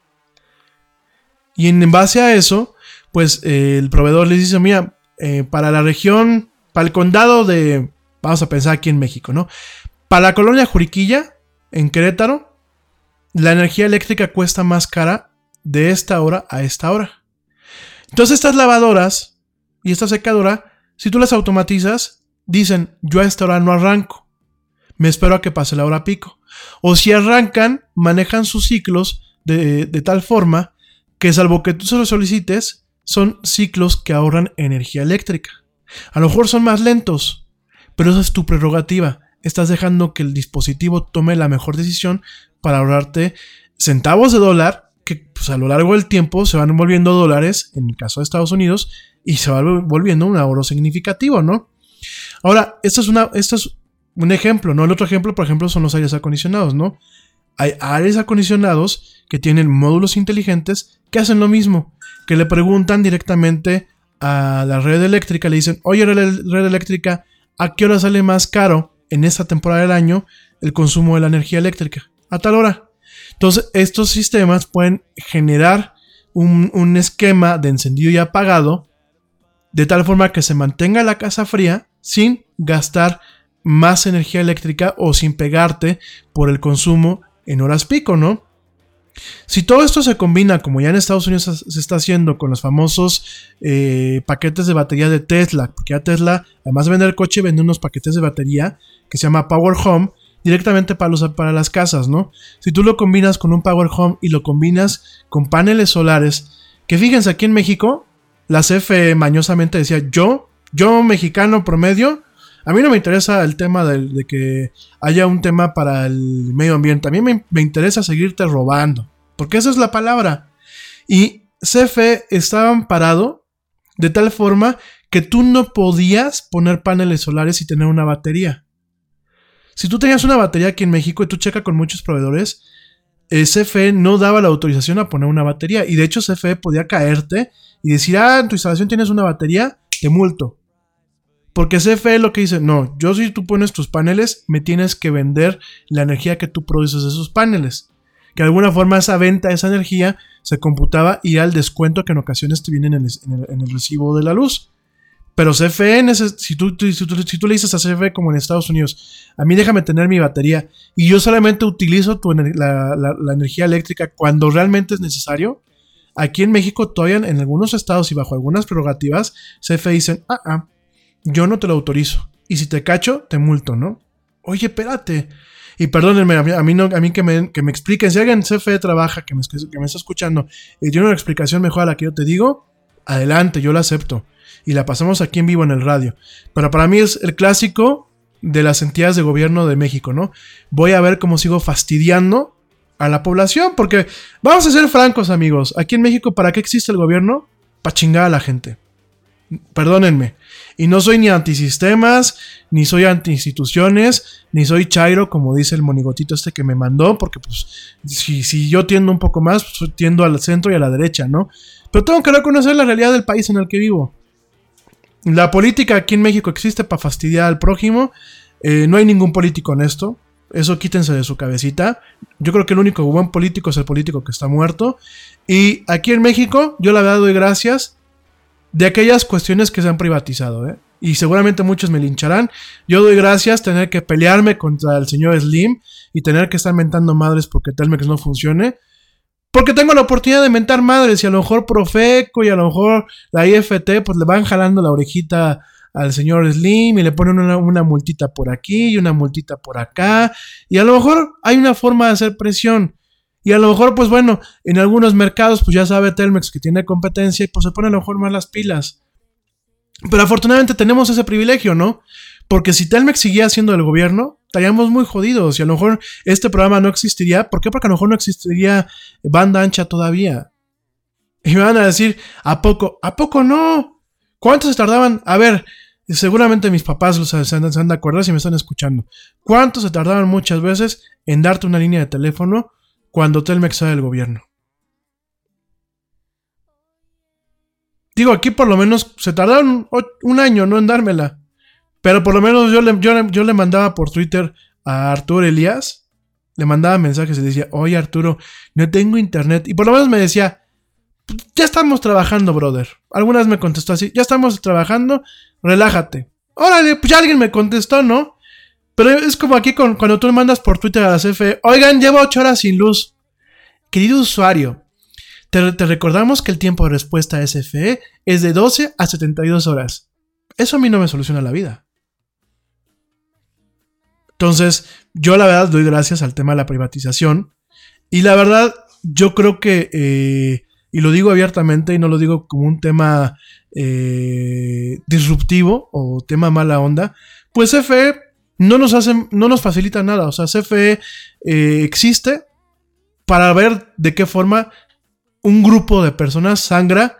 Y en base a eso, pues el proveedor les dice, mira, para la región, para el condado de, vamos a pensar aquí en México, ¿no? Para la colonia Juriquilla, en Querétaro, la energía eléctrica cuesta más cara de esta hora a esta hora. Entonces estas lavadoras y esta secadora, si tú las automatizas, dicen, yo a esta hora no arranco, me espero a que pase la hora pico. O si arrancan, manejan sus ciclos de tal forma que salvo que tú se lo solicites, son ciclos que ahorran energía eléctrica. A lo mejor son más lentos, pero esa es tu prerrogativa. Estás dejando que el dispositivo tome la mejor decisión para ahorrarte centavos de dólar que pues, a lo largo del tiempo se van volviendo dólares, en el caso de Estados Unidos, y se va volviendo un ahorro significativo, ¿no? Ahora, esto es un ejemplo, ¿no? El otro ejemplo, por ejemplo, son los aires acondicionados, ¿no? Hay aires acondicionados que tienen módulos inteligentes que hacen lo mismo, que le preguntan directamente a la red eléctrica, le dicen, oye red eléctrica, ¿a qué hora sale más caro en esta temporada del año el consumo de la energía eléctrica? A tal hora. Entonces estos sistemas pueden generar un esquema de encendido y apagado de tal forma que se mantenga la casa fría sin gastar más energía eléctrica o sin pegarte por el consumo en horas pico, ¿no? Si todo esto se combina, como ya en Estados Unidos se está haciendo con los famosos paquetes de batería de Tesla, porque ya Tesla, además de vender coche, vende unos paquetes de batería que se llama Power Home, directamente para las casas, ¿no? Si tú lo combinas con un Power Home y lo combinas con paneles solares, que fíjense, aquí en México, la CFE mañosamente decía, yo mexicano promedio, a mí no me interesa el tema de que haya un tema para el medio ambiente. A mí me interesa seguirte robando. Porque esa es la palabra. Y CFE estaba amparado de tal forma que tú no podías poner paneles solares y tener una batería. Si tú tenías una batería aquí en México y tú checas con muchos proveedores, CFE no daba la autorización a poner una batería. Y de hecho CFE podía caerte y decir, en tu instalación tienes una batería, te multo. Porque CFE lo que dice, no, yo si tú pones tus paneles, me tienes que vender la energía que tú produces de esos paneles. Que de alguna forma esa venta de esa energía se computaba y era el descuento que en ocasiones te viene en el recibo de la luz. Pero CFE, si tú le dices a CFE como en Estados Unidos, a mí déjame tener mi batería y yo solamente utilizo la energía eléctrica cuando realmente es necesario. Aquí en México todavía en algunos estados y bajo algunas prerrogativas, CFE dicen, yo no te lo autorizo. Y si te cacho, te multo, ¿no? Oye, espérate. Y perdónenme, a mí que me expliquen. Si alguien en CFE trabaja, que me está escuchando, y tiene una explicación mejor a la que yo te digo, adelante, yo la acepto. Y la pasamos aquí en vivo en el radio. Pero para mí es el clásico de las entidades de gobierno de México, ¿no? Voy a ver cómo sigo fastidiando a la población, porque vamos a ser francos, amigos. Aquí en México, ¿para qué existe el gobierno? Para chingar a la gente. Perdónenme. Y no soy ni anti-sistemas, ni soy anti-instituciones, ni soy chairo, como dice el monigotito este que me mandó, porque pues si yo tiendo un poco más, pues tiendo al centro y a la derecha, ¿no? Pero tengo que reconocer la realidad del país en el que vivo. La política aquí en México existe para fastidiar al prójimo. No hay ningún político honesto. Eso quítense de su cabecita. Yo creo que el único buen político es el político que está muerto. Y aquí en México, yo la verdad doy gracias de aquellas cuestiones que se han privatizado, ¿eh? Y seguramente muchos me lincharán. Yo doy gracias tener que pelearme contra el señor Slim y tener que estar mentando madres porque Telmex no funcione. Porque tengo la oportunidad de mentar madres y a lo mejor Profeco y a lo mejor la IFT pues le van jalando la orejita al señor Slim y le ponen una multita por aquí y una multita por acá. Y a lo mejor hay una forma de hacer presión. Y a lo mejor, pues bueno, en algunos mercados, pues ya sabe Telmex que tiene competencia y pues se pone a lo mejor más las pilas. Pero afortunadamente tenemos ese privilegio, ¿no? Porque si Telmex seguía siendo el gobierno, estaríamos muy jodidos y a lo mejor este programa no existiría. ¿Por qué? Porque a lo mejor no existiría banda ancha todavía. Y me van a decir, ¿a poco? ¿A poco no? ¿Cuánto se tardaban? A ver, seguramente mis papás se han de acordar si me están escuchando. ¿Cuánto se tardaban muchas veces en darte una línea de teléfono cuando Telmex era del gobierno? Digo, aquí por lo menos se tardaron un año, ¿no? En dármela. Pero por lo menos yo le mandaba por Twitter a Arturo Elías. Le mandaba mensajes y le decía, oye Arturo, no tengo internet. Y por lo menos me decía, ya estamos trabajando, brother. Algunas me contestó así, ya estamos trabajando, relájate. Órale, pues ya alguien me contestó, ¿no? Pero es como aquí cuando tú le mandas por Twitter a la CFE, oigan, llevo 8 horas sin luz. Querido usuario, te recordamos que el tiempo de respuesta a CFE es de 12 a 72 horas. Eso a mí no me soluciona la vida. Entonces, yo la verdad doy gracias al tema de la privatización. Y la verdad, yo creo que, y lo digo abiertamente y no lo digo como un tema disruptivo o tema mala onda, pues CFE no nos facilita nada. O sea, CFE existe para ver de qué forma un grupo de personas sangra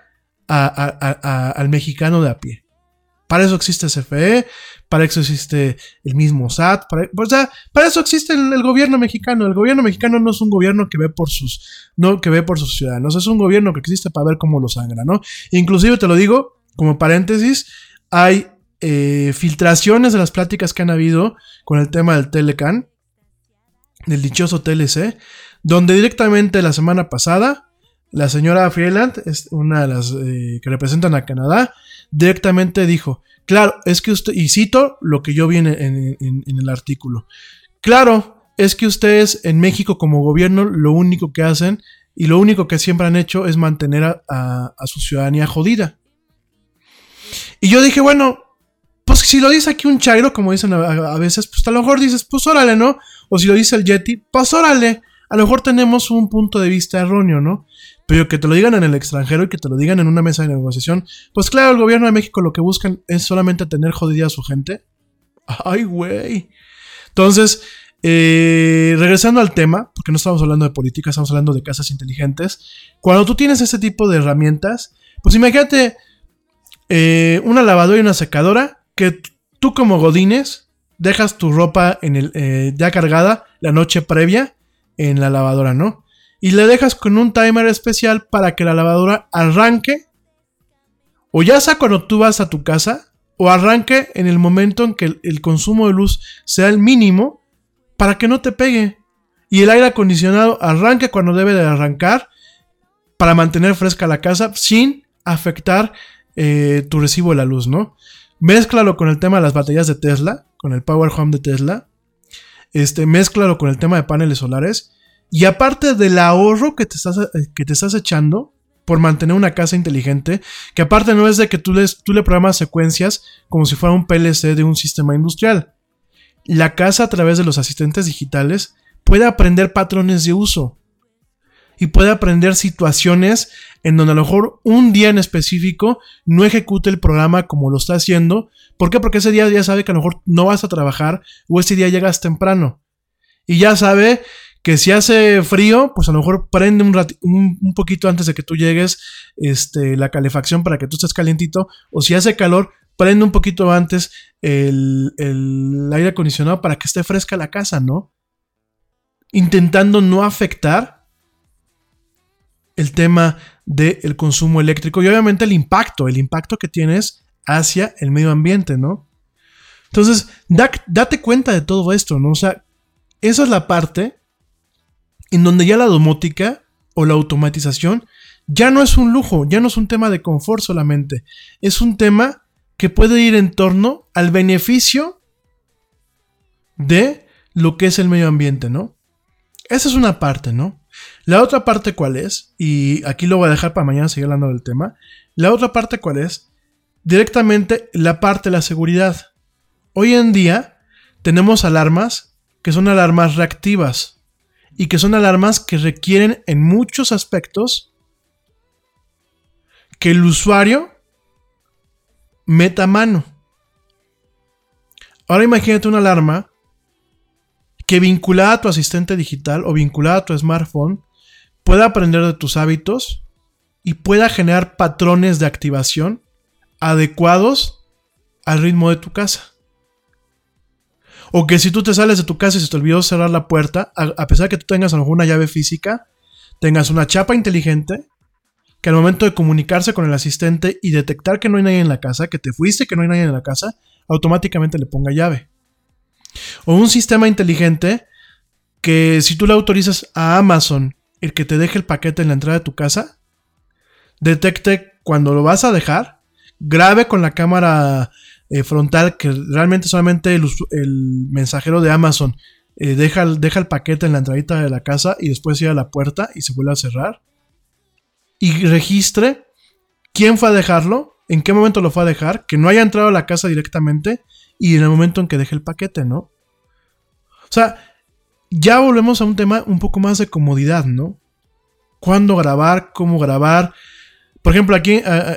al mexicano de a pie. Para eso existe CFE, para eso existe el mismo SAT, para eso existe el gobierno mexicano. El gobierno mexicano no es un gobierno que ve por sus ciudadanos, es un gobierno que existe para ver cómo lo sangra, ¿no? Inclusive te lo digo, como paréntesis, hay filtraciones de las pláticas que han habido con el tema del Telecan, del dichoso TLC, donde directamente la semana pasada la señora Freeland, es una de las que representan a Canadá, directamente dijo, claro, es que usted, y cito lo que yo vi en el artículo, claro, es que ustedes en México como gobierno lo único que hacen y lo único que siempre han hecho es mantener a su ciudadanía jodida. Y yo dije, bueno, pues si lo dice aquí un chairo, como dicen a veces, pues a lo mejor dices, pues órale, ¿no? O si lo dice el Yeti, pues órale, a lo mejor tenemos un punto de vista erróneo, ¿no? Pero que te lo digan en el extranjero y que te lo digan en una mesa de negociación, pues claro, el gobierno de México lo que buscan es solamente tener jodida a su gente. ¡Ay, güey! Entonces, regresando al tema, porque no estamos hablando de política, estamos hablando de casas inteligentes. Cuando tú tienes ese tipo de herramientas, pues imagínate una lavadora y una secadora que tú como godines dejas tu ropa ya cargada la noche previa en la lavadora, ¿no? Y le dejas con un timer especial para que la lavadora arranque, o ya sea cuando tú vas a tu casa, o arranque en el momento en que el consumo de luz sea el mínimo, para que no te pegue. Y el aire acondicionado arranque cuando debe de arrancar, para mantener fresca la casa, sin afectar tu recibo de la luz, ¿no? Mézclalo con el tema de las baterías de Tesla, con el Power Home de Tesla. Mézclalo con el tema de paneles solares. Y aparte del ahorro que te estás echando por mantener una casa inteligente, que aparte no es de que tú le programas secuencias como si fuera un PLC de un sistema industrial. La casa, a través de los asistentes digitales, puede aprender patrones de uso y puede aprender situaciones en donde a lo mejor un día en específico no ejecute el programa como lo está haciendo. ¿Por qué? Porque ese día ya sabe que a lo mejor no vas a trabajar, o ese día llegas temprano y ya sabe que si hace frío, pues a lo mejor prende un poquito antes de que tú llegues la calefacción para que tú estés calientito, o si hace calor, prende un poquito antes el aire acondicionado para que esté fresca la casa, ¿no? Intentando no afectar el tema del consumo eléctrico y obviamente el impacto que tienes hacia el medio ambiente, ¿no? Entonces, date cuenta de todo esto, ¿no? O sea, esa es la parte en donde ya la domótica o la automatización ya no es un lujo, ya no es un tema de confort solamente, es un tema que puede ir en torno al beneficio de lo que es el medio ambiente, ¿no? Esa es una parte, ¿no? La otra parte, ¿cuál es? Y aquí lo voy a dejar para mañana seguir hablando del tema. La otra parte, ¿cuál es? Directamente la parte de la seguridad. Hoy en día tenemos alarmas que son alarmas reactivas y que son alarmas que requieren en muchos aspectos que el usuario meta mano. Ahora imagínate una alarma que vinculada a tu asistente digital o vinculada a tu smartphone pueda aprender de tus hábitos y pueda generar patrones de activación adecuados al ritmo de tu casa. O que si tú te sales de tu casa y se te olvidó cerrar la puerta, a pesar de que tú tengas a lo mejor una llave física, tengas una chapa inteligente que al momento de comunicarse con el asistente y detectar que no hay nadie en la casa, que te fuiste, que no hay nadie en la casa, automáticamente le ponga llave. O un sistema inteligente que si tú le autorizas a Amazon el que te deje el paquete en la entrada de tu casa, detecte cuando lo vas a dejar, grabe con la cámara frontal que realmente solamente el mensajero de Amazon deja el paquete en la entradita de la casa y después cierra la puerta y se vuelve a cerrar. Y registre quién fue a dejarlo, en qué momento lo fue a dejar, que no haya entrado a la casa directamente y en el momento en que deje el paquete, ¿no? O sea, ya volvemos a un tema un poco más de comodidad, ¿no? ¿Cuándo grabar? ¿Cómo grabar? Por ejemplo, aquí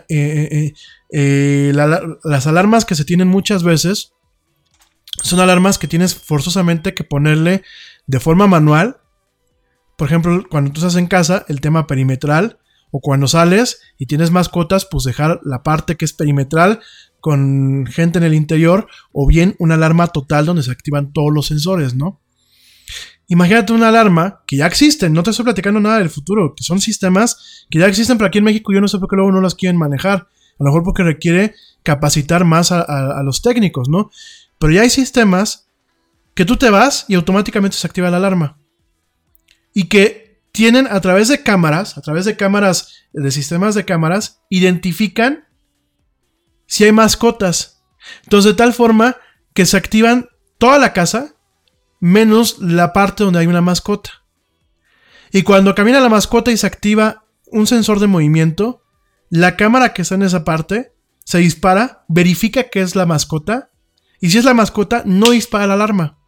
las alarmas que se tienen muchas veces son alarmas que tienes forzosamente que ponerle de forma manual. Por ejemplo, cuando tú estás en casa, el tema perimetral, o cuando sales y tienes mascotas, pues dejar la parte que es perimetral con gente en el interior, o bien una alarma total donde se activan todos los sensores, ¿no? Imagínate una alarma que ya existen, no te estoy platicando nada del futuro, que son sistemas que ya existen, pero aquí en México yo no sé por qué luego no las quieren manejar, a lo mejor porque requiere capacitar más a los técnicos, ¿no? Pero ya hay sistemas que tú te vas y automáticamente se activa la alarma y que tienen a través de cámaras, de sistemas de cámaras, identifican si hay mascotas. Entonces, de tal forma que se activan toda la casa, menos la parte donde hay una mascota. Y cuando camina la mascota y se activa un sensor de movimiento, la cámara que está en esa parte se dispara, verifica que es la mascota, y si es la mascota, no dispara la alarma.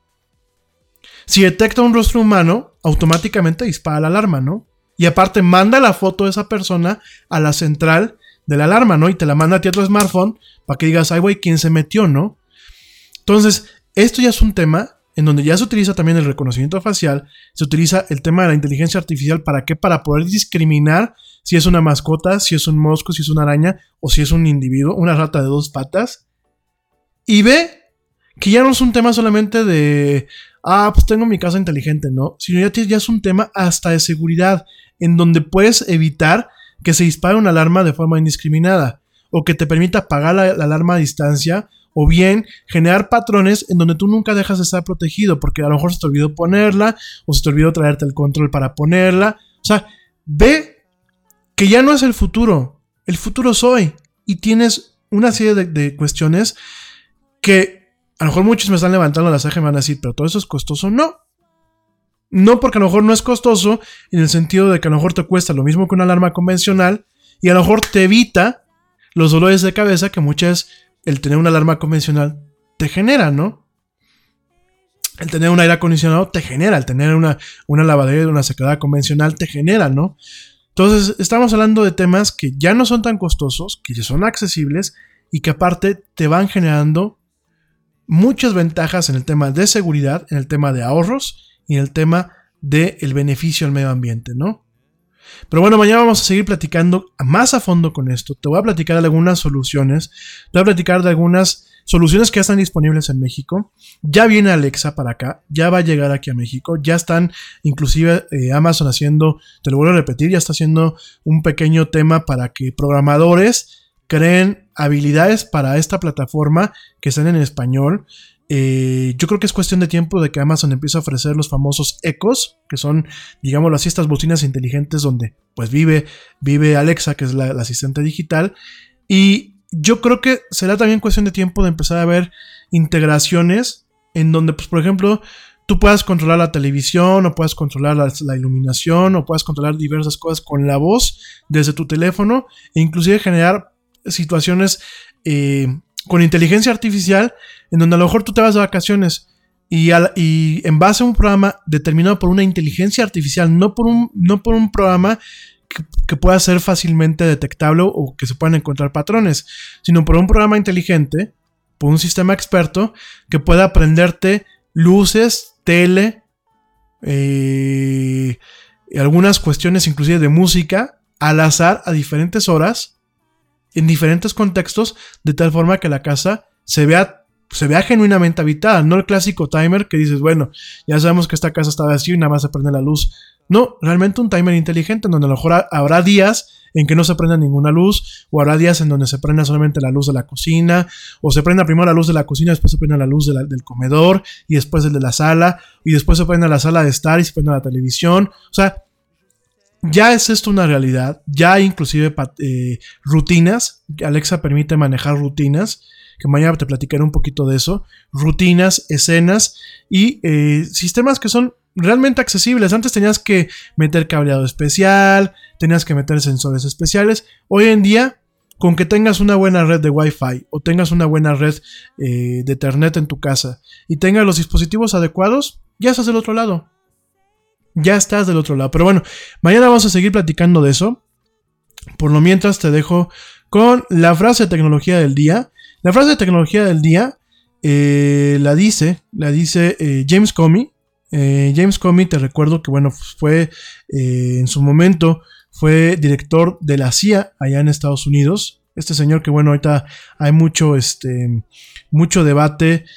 Si detecta un rostro humano, automáticamente dispara la alarma, ¿no? Y aparte manda la foto de esa persona a la central de la alarma, ¿no? Y te la manda a ti a tu smartphone para que digas, ay, güey, ¿quién se metió, no? Entonces, esto ya es un tema en donde ya se utiliza también el reconocimiento facial, se utiliza el tema de la inteligencia artificial, ¿para qué? Para poder discriminar si es una mascota, si es un mosco, si es una araña, o si es un individuo, una rata de 2 patas. Y ve que ya no es un tema solamente de, pues tengo mi casa inteligente, ¿no? Sino ya es un tema hasta de seguridad, en donde puedes evitar que se dispare una alarma de forma indiscriminada, o que te permita apagar la alarma a distancia, o bien generar patrones en donde tú nunca dejas de estar protegido, porque a lo mejor se te olvidó ponerla, o se te olvidó traerte el control para ponerla. O sea, ve que ya no es el futuro es hoy, y tienes una serie de cuestiones que a lo mejor muchos me están levantando la ceja y me van a decir, pero todo eso es costoso. No, porque a lo mejor no es costoso en el sentido de que a lo mejor te cuesta lo mismo que una alarma convencional y a lo mejor te evita los dolores de cabeza que muchas el tener una alarma convencional te genera, ¿no? El tener un aire acondicionado te genera, el tener una lavadera, una secadora convencional te genera, ¿no? Entonces estamos hablando de temas que ya no son tan costosos, que ya son accesibles y que aparte te van generando muchas ventajas en el tema de seguridad, en el tema de ahorros y en el tema del beneficio al medio ambiente, ¿no? Pero bueno, mañana vamos a seguir platicando más a fondo con esto. Te voy a platicar de algunas soluciones, te voy a platicar de algunas soluciones que ya están disponibles en México. Ya viene Alexa para acá, ya va a llegar aquí a México, ya están inclusive Amazon haciendo, te lo vuelvo a repetir, ya está haciendo un pequeño tema para que programadores creen habilidades para esta plataforma que están en español. Yo creo que es cuestión de tiempo de que Amazon empiece a ofrecer los famosos Echos, que son, digámoslo así, estas bocinas inteligentes donde pues vive Alexa, que es la asistente digital, y yo creo que será también cuestión de tiempo de empezar a ver integraciones en donde, pues, por ejemplo, tú puedas controlar la televisión, o puedas controlar la iluminación, o puedas controlar diversas cosas con la voz desde tu teléfono, e inclusive generar situaciones con inteligencia artificial en donde a lo mejor tú te vas de vacaciones y en base a un programa determinado por una inteligencia artificial, no por un programa que pueda ser fácilmente detectable o que se puedan encontrar patrones, sino por un programa inteligente, por un sistema experto que pueda aprenderte luces, tele, algunas cuestiones inclusive de música al azar a diferentes horas, en diferentes contextos, de tal forma que la casa se vea genuinamente habitada, no el clásico timer que dices, bueno, ya sabemos que esta casa está vacía y nada más se prende la luz. No, realmente un timer inteligente en donde a lo mejor habrá días en que no se prenda ninguna luz, o habrá días en donde se prenda solamente la luz de la cocina, o se prenda primero la luz de la cocina, después se prenda la luz del comedor, y después el de la sala, y después se prenda la sala de estar y se prenda la televisión. O sea, ya es esto una realidad, ya hay inclusive rutinas. Alexa permite manejar rutinas, que mañana te platicaré un poquito de eso, rutinas, escenas y sistemas que son realmente accesibles. Antes tenías que meter cableado especial, tenías que meter sensores especiales. Hoy en día, con que tengas una buena red de Wi-Fi o tengas una buena red de Ethernet en tu casa y tengas los dispositivos adecuados, ya estás del otro lado. Ya estás del otro lado. Pero bueno, mañana vamos a seguir platicando de eso. Por lo mientras te dejo con la frase de tecnología del día. La frase de tecnología del día la dice James Comey. James Comey, te recuerdo que bueno, fue en su momento fue director de la CIA allá en Estados Unidos. Este señor que bueno, ahorita hay mucho debate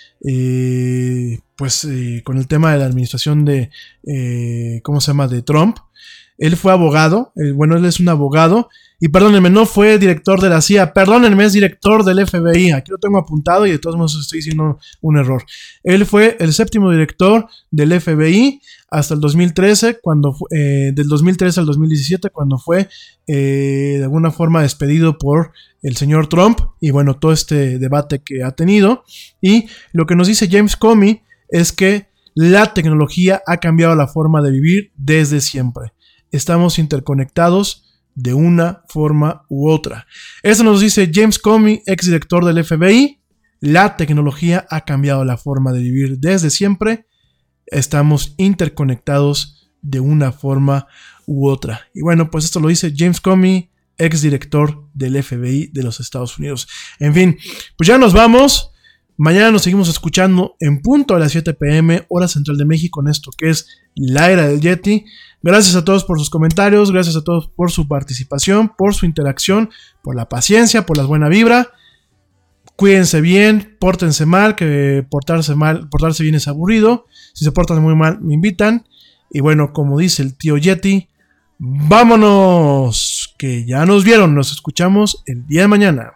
con el tema de la administración de de Trump. Él fue abogado, él es un abogado, y perdónenme, no fue director de la CIA, perdónenme, es director del FBI, aquí lo tengo apuntado y de todos modos estoy diciendo un error. Él fue el 7º director del FBI hasta el 2013, del 2013 al 2017, cuando fue de alguna forma despedido por el señor Trump, y bueno, todo este debate que ha tenido. Y lo que nos dice James Comey es que la tecnología ha cambiado la forma de vivir desde siempre. Estamos interconectados de una forma u otra. Eso nos dice James Comey, exdirector del FBI. La tecnología ha cambiado la forma de vivir desde siempre. Estamos interconectados de una forma u otra. Y bueno, pues esto lo dice James Comey, exdirector del FBI de los Estados Unidos. En fin, pues ya nos vamos. Mañana nos seguimos escuchando en punto a las 7 p.m. hora central de México en esto que es la era del Yeti. Gracias a todos por sus comentarios, gracias a todos por su participación, por su interacción, por la paciencia, por la buena vibra. Cuídense bien, pórtense mal, que portarse bien es aburrido. Si se portan muy mal, me invitan. Y bueno, como dice el tío Yeti, vámonos, que ya nos vieron. Nos escuchamos el día de mañana.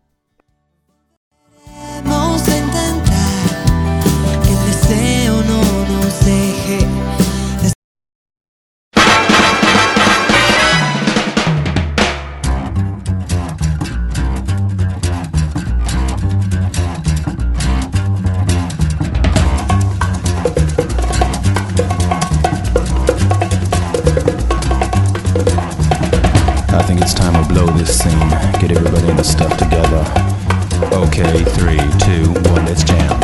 Vamos a intentar que el deseo no nos deje. Okay, 3, 2, 1, let's jam.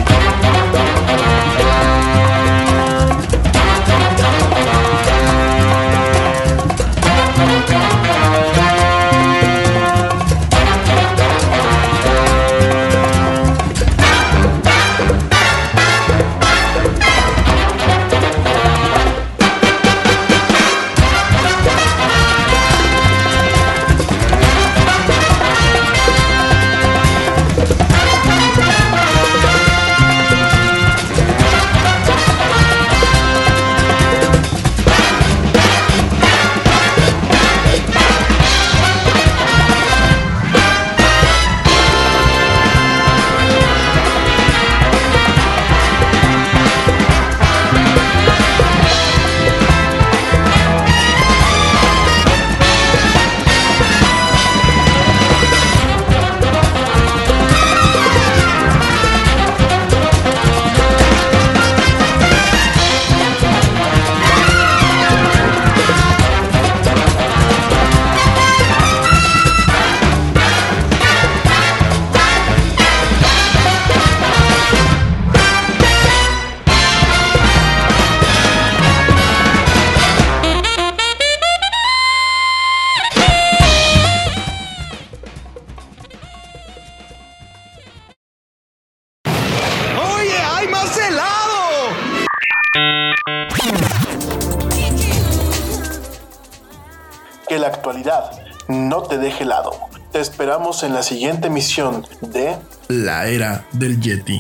Que la actualidad no te deje helado. Te esperamos en la siguiente emisión de La Era del Yeti.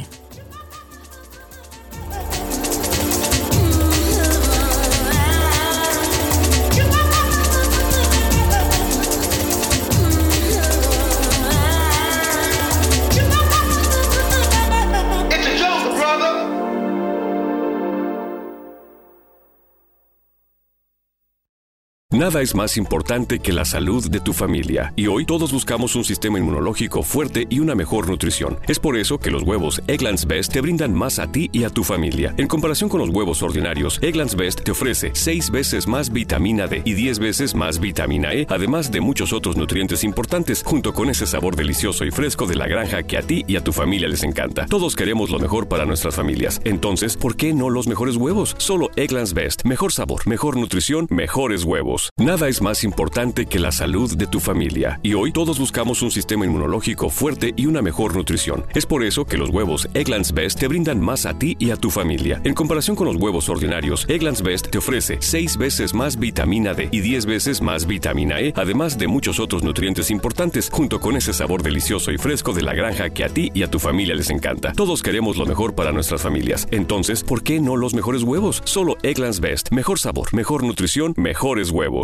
Nada es más importante que la salud de tu familia, y hoy todos buscamos un sistema inmunológico fuerte y una mejor nutrición. Es por eso que los huevos Eggland's Best te brindan más a ti y a tu familia. En comparación con los huevos ordinarios, Eggland's Best te ofrece 6 veces más vitamina D y 10 veces más vitamina E, además de muchos otros nutrientes importantes, junto con ese sabor delicioso y fresco de la granja que a ti y a tu familia les encanta. Todos queremos lo mejor para nuestras familias. Entonces, ¿por qué no los mejores huevos? Solo Eggland's Best. Mejor sabor, mejor nutrición, mejores huevos. Nada es más importante que la salud de tu familia, y hoy todos buscamos un sistema inmunológico fuerte y una mejor nutrición. Es por eso que los huevos Eggland's Best te brindan más a ti y a tu familia. En comparación con los huevos ordinarios, Eggland's Best te ofrece 6 veces más vitamina D y 10 veces más vitamina E, además de muchos otros nutrientes importantes, junto con ese sabor delicioso y fresco de la granja que a ti y a tu familia les encanta. Todos queremos lo mejor para nuestras familias. Entonces, ¿por qué no los mejores huevos? Solo Eggland's Best. Mejor sabor, mejor nutrición, mejores huevos.